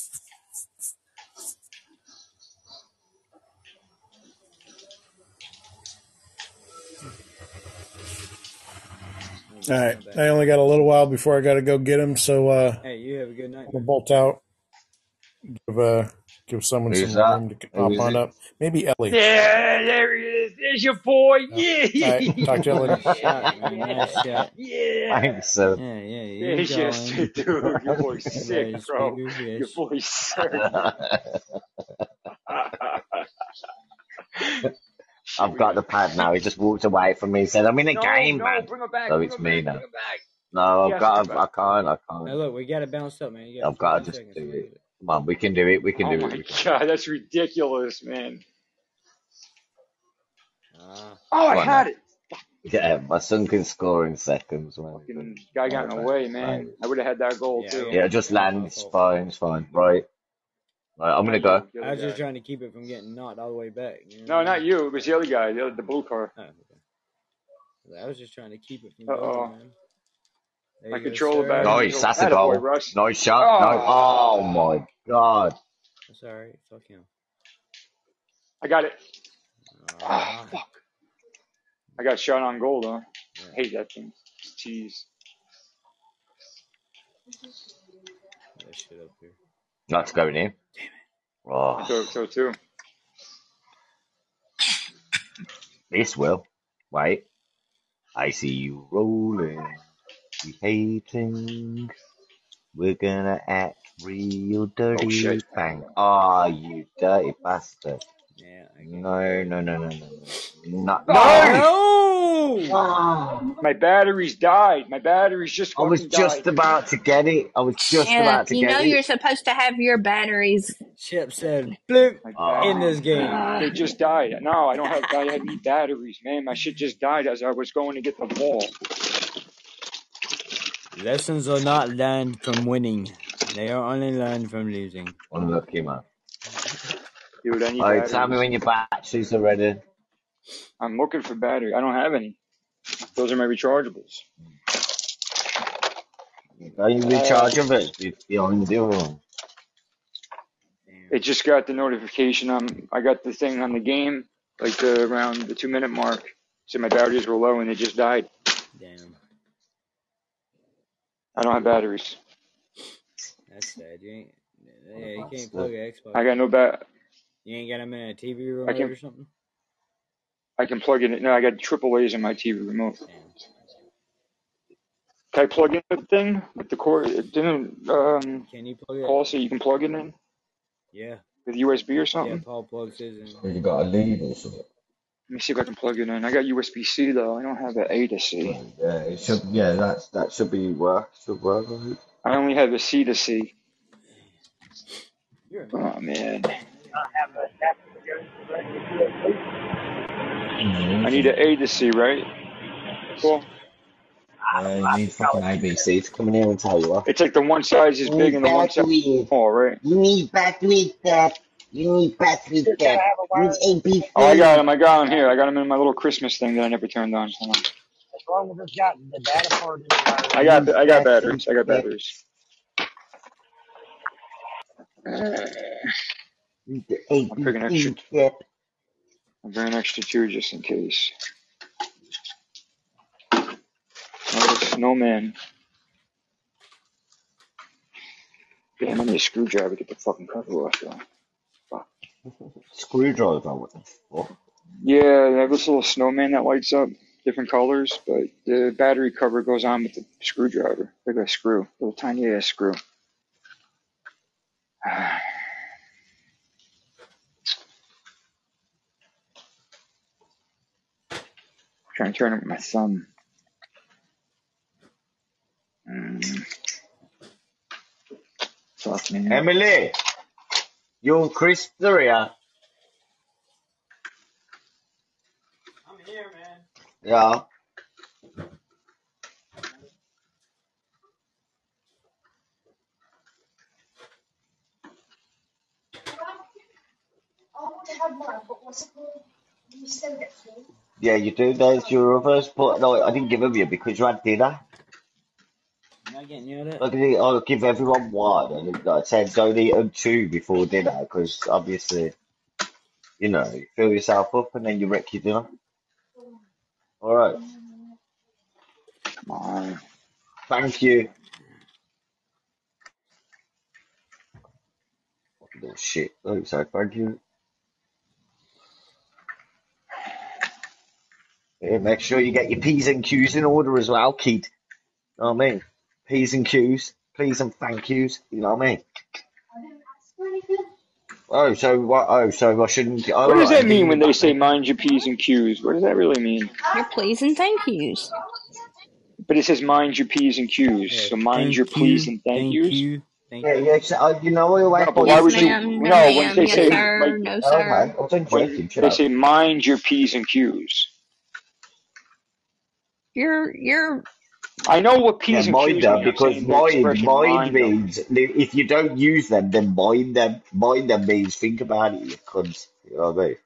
All right. I only got a little while before I got to go get him, so uh, Hey, you have a good night. I'm gonna bolt out. Give uh, give someone Who's some that? room to Who pop is on it? up. Maybe Ellie. Yeah, there he is. There's your boy. Yeah. All right. Talk to you later. Shot, man. Nice shot. Yeah. Thanks, sir. Yeah, yeah, you There's your going. dude. Your boy's sick, Nice bro. fingers, Your yes. boy's sick. I've got the pad now. He just walked away from me and said, I'm in a No, game, no, man. bring her back. So Bring it's her me back. now. Bring her back. No, He I've has to got, come I back. can't, I Now can't. look, we got to bounce up, man. You got I've got to fifteen just seconds. do What is it. it? Come on, we can do it. We can Oh do it. my We can. god, that's ridiculous, man. Oh, Ah, Oh, I Come on had now. it. Yeah, my son can score in seconds. Man. Fucking guy got in the Right, way, right. man. I would have had that goal yeah, I too. got Yeah, it. just That was land. my It's fault. fine. It's fine. Right. Right. I'm gonna Not go. you, the I other was just guy. trying to keep it from getting knocked all the way back. You know No, what I not mean? you. It was the other guy, the, other, the blue car. Oh, okay. I was just trying to keep it from Uh going, oh. man. There My you go, controller sir. battery Nice. is That's a attaboy, goal. Russ. Nice shot. No. Oh, Oh my god. That's all right. Fuck him. I got it. Oh, Ah, fuck. I got shot on goal, though. yeah. I hate that thing. Jeez. That shit up here. That's going in. I Oh, thought so too. this will. Wait. I see you rolling. We hating. We're gonna act real Oh dirty. shit. Bang. Ah, you dirty bastard. Yeah, I can't. No, no, no, no, no, no. No. No! No! No! Ah. My batteries died. My batteries just I was fucking just died. about to get it. I was just Chip, about to you know get you're it. supposed to have your batteries. Chip said, bloop, My Oh. in this game. They just died. No, I don't have. I have need batteries, man. My shit just died as I was going to get the ball. Lessons are not learned from winning. They are only learned from losing. Unlucky, man. Dude, I need Alright, batteries. tell me when your batteries are ready. I'm looking for battery. I don't have any. Those are my rechargeables. Are you recharge of it? You- You're on the other one. It just got the notification. Um, I got the thing on the game, like the, around the two minute mark. So my batteries were low and they just died. Damn. I don't have batteries. That's sad. You ain't. Yeah, you can't plug an Xbox. I got no bat. You ain't got them in a T V I remote can. or something? I can plug in. No, I got triple A's on my T V remote. Damn. Can I plug in the thing with the cord? It didn't um, Can you plug it? Paul say you can plug it in Yeah. with U S B or Yeah, something? Paul plugs his in. You got a lead or something? Let me see if I can plug it in. I got U S B C though. I don't have an A to C. Yeah, it should. Yeah, that's that should be work. Should work. Right? I only have a C to C. You're Oh man. I need an A to C, right? Cool. Uh, you need fucking A B C to come in here and tell you what. It's like the one size is You big need and the one size is batteries. small, right? You need batteries, Dad. You need batteries, Dad. You need A B C. Oh, I got them. I got them here. I got them in my little Christmas thing that I never turned on. Hold on. As long as it's got the data part in it. I got. I got batteries. I got batteries. A I'll pick an B extra. C, Dad. I'll bring an extra two just in case. Oh, the snowman. Damn, I need a screwdriver to get the fucking cover off though. Fuck. Screwdriver. What the fuck? Yeah, they have this little snowman that lights up, different colors, but the battery cover goes on with the screwdriver. Like a screw, little tiny ass screw. Trying to turn it with my thumb. Mm. Fuck, man. Emily, you and Chris are here. I'm here, man. Yeah. Yeah, you do. There's your others, but no, I didn't give them you because you had dinner. I'm not getting you that. Look at it, I'll give everyone one, and I said don't eat them two before dinner because obviously, you know, you fill yourself up and then you wreck your dinner. All right. Come on. Thank you. Little shit. Oh, so thank you. Yeah, make sure you get your P's and Q's in order as well, kid. You know what I mean? P's and Q's, please and thank yous. You know what I mean? Oh, so what? Oh, so I shouldn't. Oh, What does right, that mean when they say mind your P's and Q's? What does that really mean? Your please and thank yous. But it says mind your P's and Q's. Yeah, So mind thank your please you, and thank thank yous. you, Thank Yeah, you. yeah. So, uh, you know, I always No, but buy why Yes, would you? ma'am. No, No, when ma'am. they Yes, say Hey, like, sir. No, okay, I sir. wasn't when joking. Shut they up. say mind your p's and q's. You're you're I know what Yeah, p's and mind q's them mean. I'm because saying the mind, expression mind mind them. means if you don't use them, then mind them. Mind them means think about it, you cunt. You know what I mean?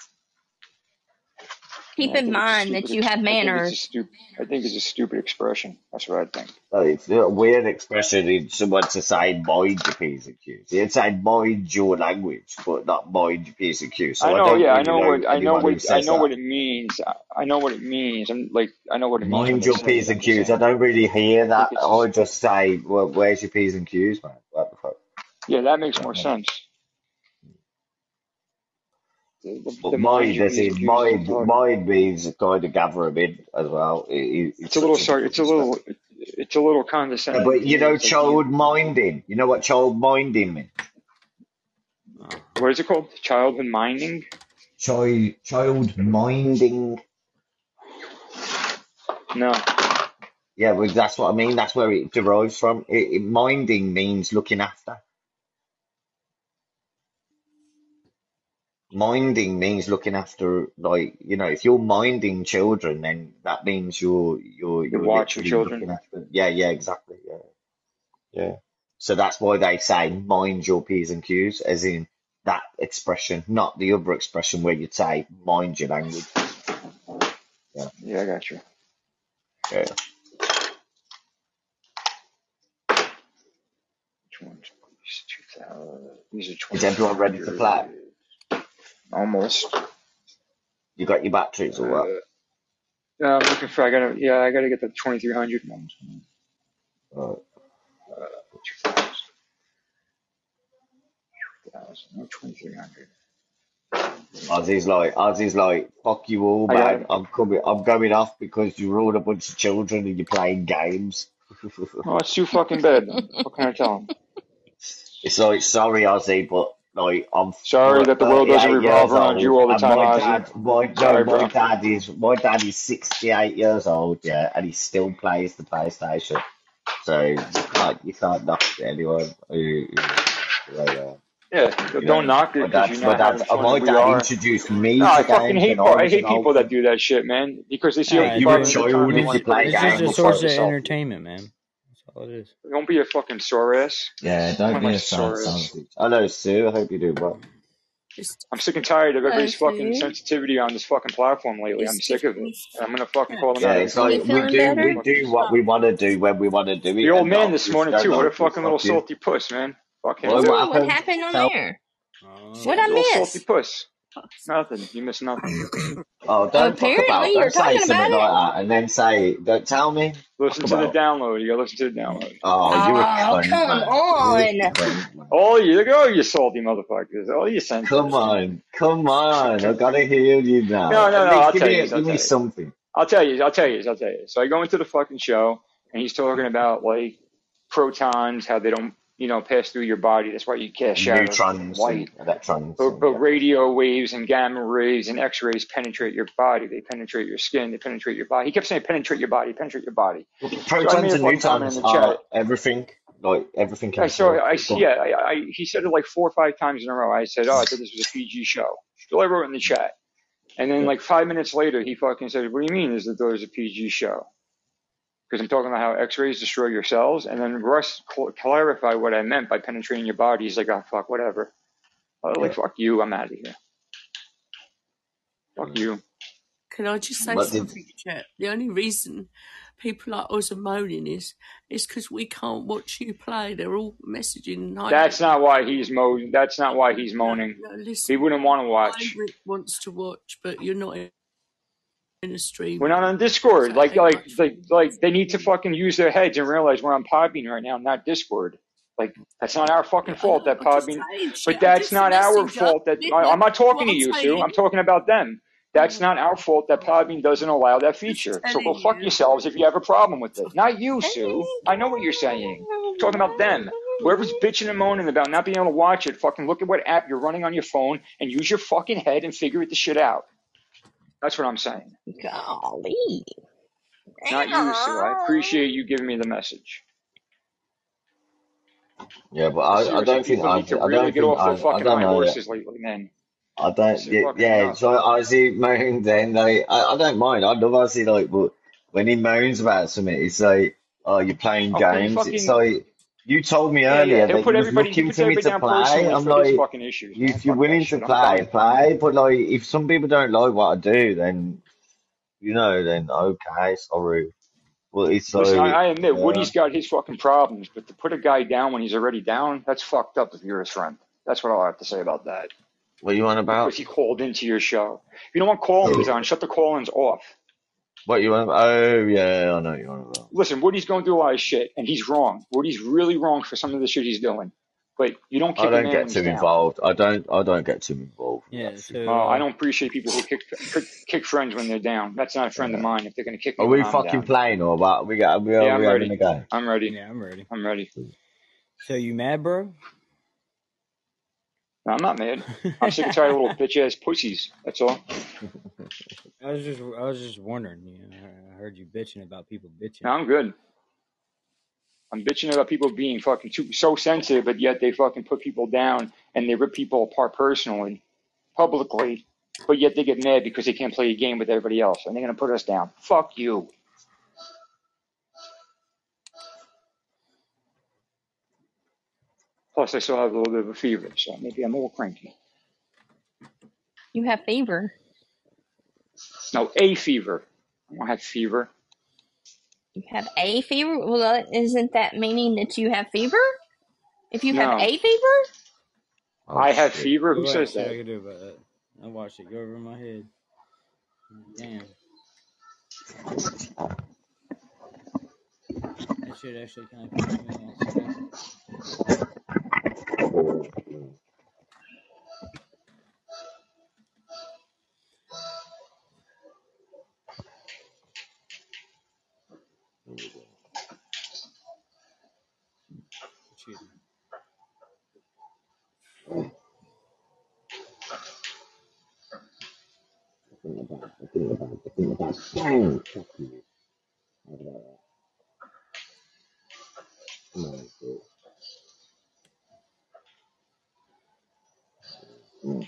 keep I in think it's a mind that stupid. you Ex- have I think it's a manners. stupid. I think it's a stupid expression. That's what I think. So it's a weird expression in someone to say mind your P's and Q's. You'd say mind your language, but not mind your P's and Q's. I So I know. don't Yeah, I really know know what. I know anyone who what. I says know that. what it means. I, I know what it means. I'm like. I know what it means when Mind they your say P's it. I'm and just Q's. I saying. don't really hear I that. think it's I just. just say, well, where's your P's and Q's, man? What the fuck? Yeah, that makes You know more what I mean? sense. The, the, But the mind mind, your as p's and in q's is mind, retarded. mind means kind of gather them in as well. It, it, It's it's a little such a sorry. It's different a respect. little. It's a little Yeah, condescending but to you me. know, It's like you. child minding. You know what child minding means? Uh-huh. What is it called? Childhood minding? Child, child minding. No. Yeah, well, that's what I mean. That's where it derives from. It, it, minding means looking after. Minding means looking after, like, you know, if you're minding children, then that means you're you're You're you're watching literally looking children. after. Yeah, yeah, exactly. Yeah, yeah. So that's why they say mind your P's and Q's, as in that expression, not the other expression where you'd say mind your language. Yeah, Yeah, I got you. yeah. Which ones? two thousand. These are Is everyone ready to play? twenty-three hundred. Almost. You got your batteries or what? Uh, no, I'm looking for. I gotta. Yeah, I gotta get the twenty-three hundred ones. Right. Uh, two thousand. two thousand. No, twenty-three hundred. Ozzy's like, Ozzy's like, fuck you all, I got man. it. I'm coming, I'm going off because you're all a bunch of children and you're playing games. Oh, it's too fucking bad then. What can I tell him? It's like, sorry, Ozzy, but like, I'm Sorry that the world doesn't thirty-eight revolve years around you old, all the and time, my Ozzy. dad, my no, Sorry, my bro. dad is, my dad is sixty-eight years old, yeah, and he still plays the PlayStation. So you can't, you can't knock anyone who, who, like, uh, Yeah, you don't know, knock my it because dad's, you're my not having dad's, uh, fun my that we dad are. introduced No, me I to fucking games when hate I po- I was an hate people that orphan. do that shit, man. Because they see other Ah, You're people a dude, having a good time, child they if it's you want to play play. it's Nah, just a go games, fuck source bro. of yourself. entertainment, man. That's all it is. Don't be a fucking sore ass. Yeah, don't One of be my a sad sore son ass. of a- Hello, Sue. I hope you do well. It's I'm sick and tired of Hello, everybody's fucking Sue. sensitivity on this fucking platform lately. I'm it's sick of it. different. And I'm gonna fucking call them Yeah, out every it's time they You like come we on. feeling do, Go we better? fuck do yourself. what we want to do when we want to do The it, old and man not this if you morning don't too. What a like it, fucking little fuck you. salty puss, man. Fuck him. Well, What's what wrong? What happened? happened on Tell. there? Oh. What I Little salty miss? puss. Nothing. You missed nothing. Oh, don't fuck about. Apparently, you're Don't say talking something about like it. that, and then say, "Don't tell me." Listen Fuck to the about. download. You gotta listen to the download. Oh, you're a Oh, cunt, come man. You're a on. cunt, man. Oh, you go, you salty motherfuckers. Oh, you Come sensitive. on, come on. I gotta hear you now. No, no, At no. least I'll give tell me, you. a, I'll give me tell you. something. I'll tell you. I'll tell you. I'll tell you. So I go into the fucking show, and he's talking about like protons, how they don't, you know, pass through your body. That's why you cast shadows and Neutrons light. and electrons. But, And, but yeah. radio waves and gamma rays and X-rays penetrate your body. They penetrate your skin. They penetrate your body. He kept saying penetrate your body, penetrate your body. So I made Protons a and fucking comment neutrons in the chat. are everything. Like everything I can saw. feel. I Go on. yeah. I, I he said it like four or five times in a row. I said, "Oh, I thought this was a P G show." So I wrote it in the chat, and then Yeah. like five minutes later, he fucking said, "What do you mean? Is that there's a P G show?" Because I'm talking about how X-rays destroy your cells, and then Russ cl- clarified what I meant by penetrating your body. He's like, "Oh fuck, whatever." I was Yeah. like, "Fuck you, I'm out of here." Fuck you. Can I just say But did, something, Chet? The only reason people like us are moaning is is because we can't watch you play. They're all messaging. Hi, That's not why he's mo. That's not why he's no, moaning. no, He listen. wouldn't want to Hi, watch. Rick wants to watch, but you're not in a stream. We're not on Discord. Like, like, like, like they need to fucking use their heads and realize we're on Podbean right now, not Discord. Like, that's not our fucking fault that Podbean. But that's not our fault that. I, I'm not talking to you, Sue. I'm talking about them. That's not our fault that Podbean doesn't allow that feature. So go fuck yourselves if you have a problem with it. Not you, Sue. I know what you're saying. I'm talking about them. Whoever's bitching and moaning about not being able to watch it, fucking look at what app you're running on your phone and use your fucking head and figure the shit out. That's what I'm saying. Golly. Not you, Sue. I appreciate you giving me the message. Yeah, but I, I Seriously, don't think people I, need to I really don't get think off I, their I fucking don't high know. horses lately, man. I This don't, is yeah, fucking yeah. enough. So I see moan then like I, I don't mind. I love Ozzy like, but when he moans about something, it's like, oh, you're playing Oh, he games. It's fucking like you told me yeah, yeah. earlier He'll that put you was everybody. He looking puts for me everybody to down play. personally I'm for his like, fucking issues, you- man. if you're Fuck that willing to shit. I'm play, done. play. But like, if some people don't like what I do, then you know, then okay, sorry. Well, it's Listen, I, like, I admit yeah. Woody's got his fucking problems, but to put a guy down when he's already down, that's fucked up if you're his friend. That's what I'll have to say about that. What you on about? Because he called into your show. If you don't want call-ins on, shut the call-ins off. What you on? Oh yeah, I know what you on about. Listen, Woody's going through a lot of shit, and he's wrong. Woody's really wrong for some of the shit he's doing. But you don't I kick a don't man get when too he's down. involved. I don't. I don't get too involved with Yeah, that shit. so Well, I uh, don't appreciate people who kick, kick kick friends when they're down. That's not a friend of Yeah. mine if they're going to kick Are me when we I'm fucking down. playing or what? We got. We are. Yeah, We I'm having a ready. game. I'm ready. yeah, I'm ready. I'm ready. So you mad, bro? No, I'm not mad. I'm sick and tired of little bitch ass pussies. That's all. I was just, I was just wondering. You know, I heard you bitching about people bitching. No, I'm good. I'm bitching about people being fucking too, so sensitive, but yet they fucking put people down and they rip people apart personally, publicly, but yet they get mad because they can't play a game with everybody else and they're going to put us down. Fuck you. Plus, I still have a little bit of a fever, so maybe I'm a little cranky. You have fever. No, a fever. I don't have fever. You have a fever? Well, isn't that meaning that you have fever? If you have No, a fever? Oh I have shit. fever. Who What says shit I that? could do about that? I watched it go over my head. Damn. That shit actually kind of pissed me off. Excuse me. Bang! Fuck you. How about that? Come on, shit. Mm.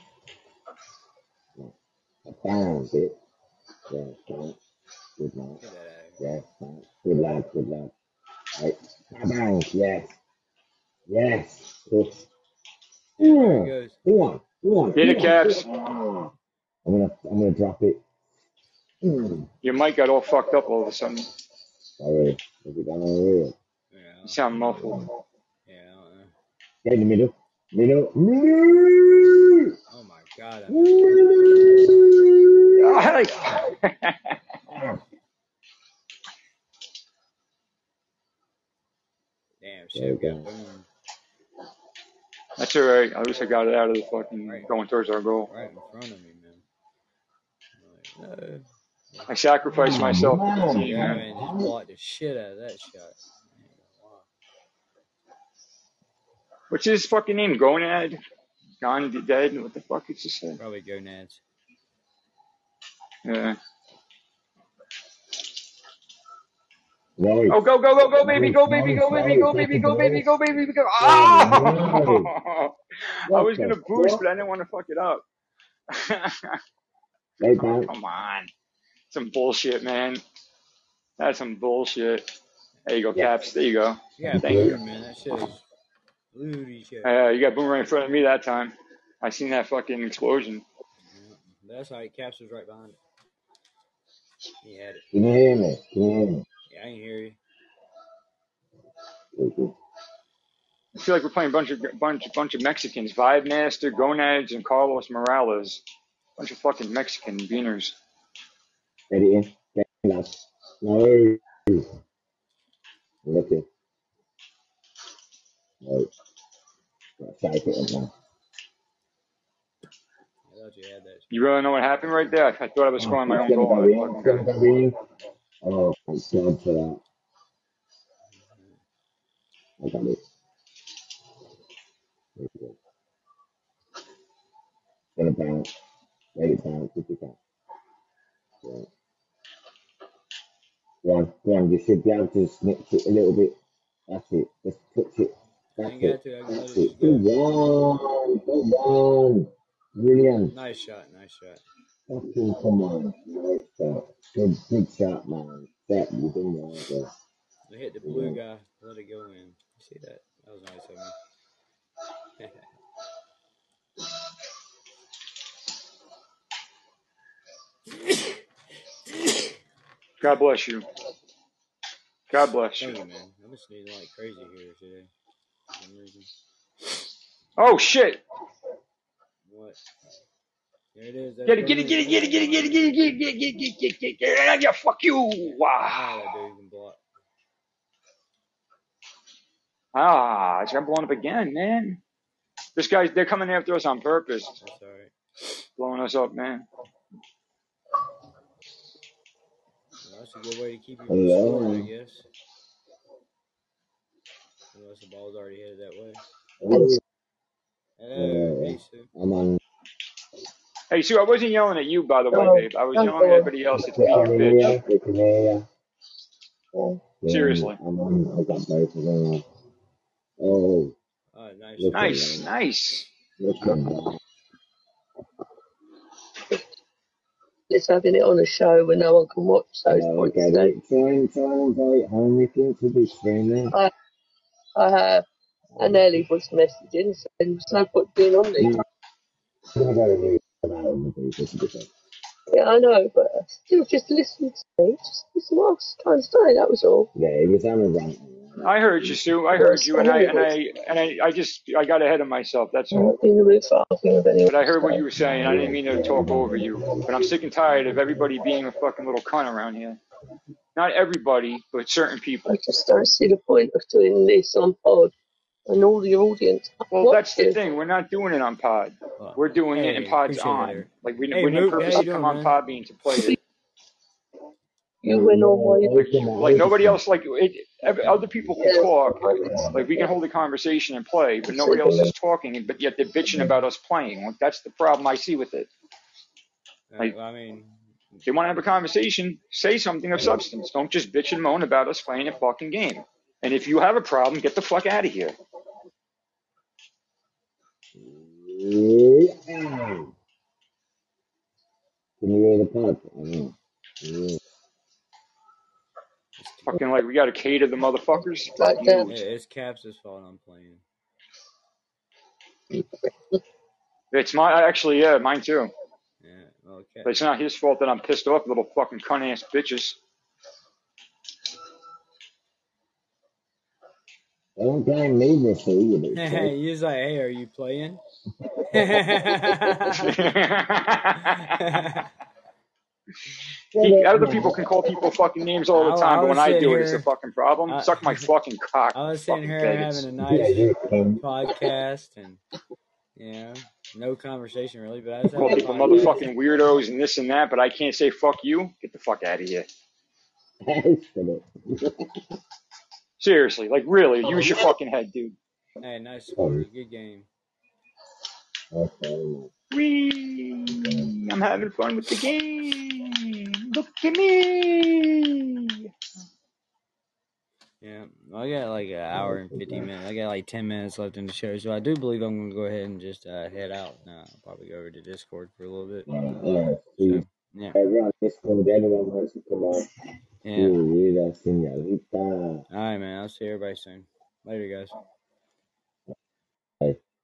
Bang, bitch. Yeah, bang. Good lad. Get that out of Yeah, bang. Good lad, good lad. Right. Bang, yes. Yes. Good. here. Yeah, there Yeah. it goes. Come on, come on, Get come it, on. Caps. Oh. I'm gonna, I'm gonna drop it. Mm. Your mic got all fucked up all of a sudden. Sorry. Is it down here? You Yeah, sound muffled. yeah, I don't know. Get in the middle. Middle. Middle. Oh my god, I missed it. Damn, shit Okay. got boomed That's all right. At least I got it out of the fucking right, going towards our goal. right in front of me, man. I'm like, no. I sacrificed myself for the team, Yeah, man. man, just blocked the shit out of that shot. I ain't gonna lie. What's his fucking name? Gonad? Gone dead? What the fuck is this thing? Probably gonads. Yeah. Right. Oh, go, go, go, go, baby, go, baby, go, baby, go, baby, go, baby, go, baby, go. Oh! I was going to boost, but I didn't want to fuck it up. Oh, come on. Some bullshit, man. That's some bullshit. There you go, Caps. There you go. Yeah, Thank you. boom, man. That shit is booty shit. Uh, you got boom right in front of me that time. I seen that fucking explosion. Yeah, that's how Caps was right behind it. He had it. Can you hear me? Can you hear me? Yeah, I can hear you. I feel like we're playing a bunch of bunch bunch of Mexicans. Vibe Master, Gonads, and Carlos Morales. Bunch of fucking Mexican beaners. Get it in. Get it in, lads. No. Look it. No. Shape it up now. I thought you had that. You really know what happened right there? I, I thought I was Oh, scoring my it's own gonna goal. go And I in. fucking It's got gonna it. go in. Oh, thank God for that. I got it. There you go. It's gonna bounce. Let it bounce if you can. Yeah. Go on, go on. You should be able to snip it a little bit. That's it. Just touch it. I That's ain't got it. to. I can let That's it it. just Good go. one. Good one. Brilliant. Nice shot. Nice shot. Fucking come on. Nice shot. Good, good shot, man. That you done well there. I hit the blue guy. Let it go in. You see that? That was nice of me. God bless you. God bless you. Thank you, man. I'm just sneezing like crazy here today for some reason. Oh shit! What? There it is. That's Get it, what get it it, get is. it, get it, get it, get it, get it, get it, get it, get it, get it, get it, get it, yeah, fuck you! Yeah. Wow. Ah, that dude can block. Ah, it's got blown up again, man. This guy's, they're coming after us on purpose. That's alright. Blowing us up, man. Well, that's a good way to keep you from Hello. scoring, I guess. Unless the ball's already headed that way. Hello. Hello. Yeah, Hey, Sue. I'm on. Hey, Sue, I wasn't yelling at you, by the way, Oh, babe. I was that's yelling at everybody else that's We being a can hear bitch. you. We can hear you. cool. Yeah, Seriously. I'm on. I got both of them. Oh, Oh, nice look shot. at Nice, that. nice. Look at that. It's having it on a show when no one can watch, so it's Oh, I pointless. get So it. Try and try and invite home if you to be streaming. I, I have, and Ellie was messaging, so there's no point being on these. I'm gonna go to read about other people to be fair. Yeah, I know, but still, just listen to me. Just listen what I was trying to say. That was all. Yeah, he was on a rant. I heard you, Sue. I heard you, and I and I and I, I just I got ahead of myself. That's I'm all. not in the mood for arguing with anyone. But I heard what So you were saying. I didn't mean to talk over you. But I'm sick and tired of everybody being a fucking little cunt around here. Not everybody, but certain people. I just don't see the point of doing this on pod and all the audience. Well, Watch that's the you. thing. We're not doing it on Pod. Well, We're doing it in hey, Pod's appreciate that, on. Eric. Like we, Hey, we didn't Moot, how purposely you come doing, on man? Podbean to play it. You went on while you Like, you, like nobody else. Like it, every, other people can Yeah. talk. Like we can hold a conversation and play, but nobody else is talking. But yet they're bitching about us playing. Like, that's the problem I see with it. Uh, Like well, I mean, if they want to have a conversation, say something of substance. Don't just bitch and moan about us playing a fucking game. And if you have a problem, get the fuck out of here. Yeah. Can you hear the pod? Oh, yeah. Fucking like we gotta cater the motherfuckers. Like Fuck that. you. yeah, it's Caps' fault I'm playing. It's my actually yeah, mine too. Yeah, well, Cap. But it's not his fault that I'm pissed off, little fucking cunt ass bitches. Don't blame me this week, you bitch. You was like, hey, are you playing? He, other people can call people fucking names all the I, time, I but when was I sitting do it, it's a here. fucking problem. I, Suck my fucking cock, I was you sitting fucking here faggots. having a nice Yeah, you can. podcast and, you know, no conversation really, but I was Call having a people podcast. motherfucking weirdos and this and that, but I can't say fuck you. Get the fuck out of here. Seriously, like really, use your fucking head, dude. Hey, nice score. Good game. Wee! I'm having fun with the game. Look at me. Yeah, well, I got like an hour and fifty minutes. I got like ten minutes left in the show, so I do believe I'm going to go ahead and just uh, head out now. I'll probably go over to Discord for a little bit. Alright, So, yeah. everyone, Discord, anyone wants to come on. Yeah. Sí, la señorita. All right, man. I'll see everybody soon. Later, guys.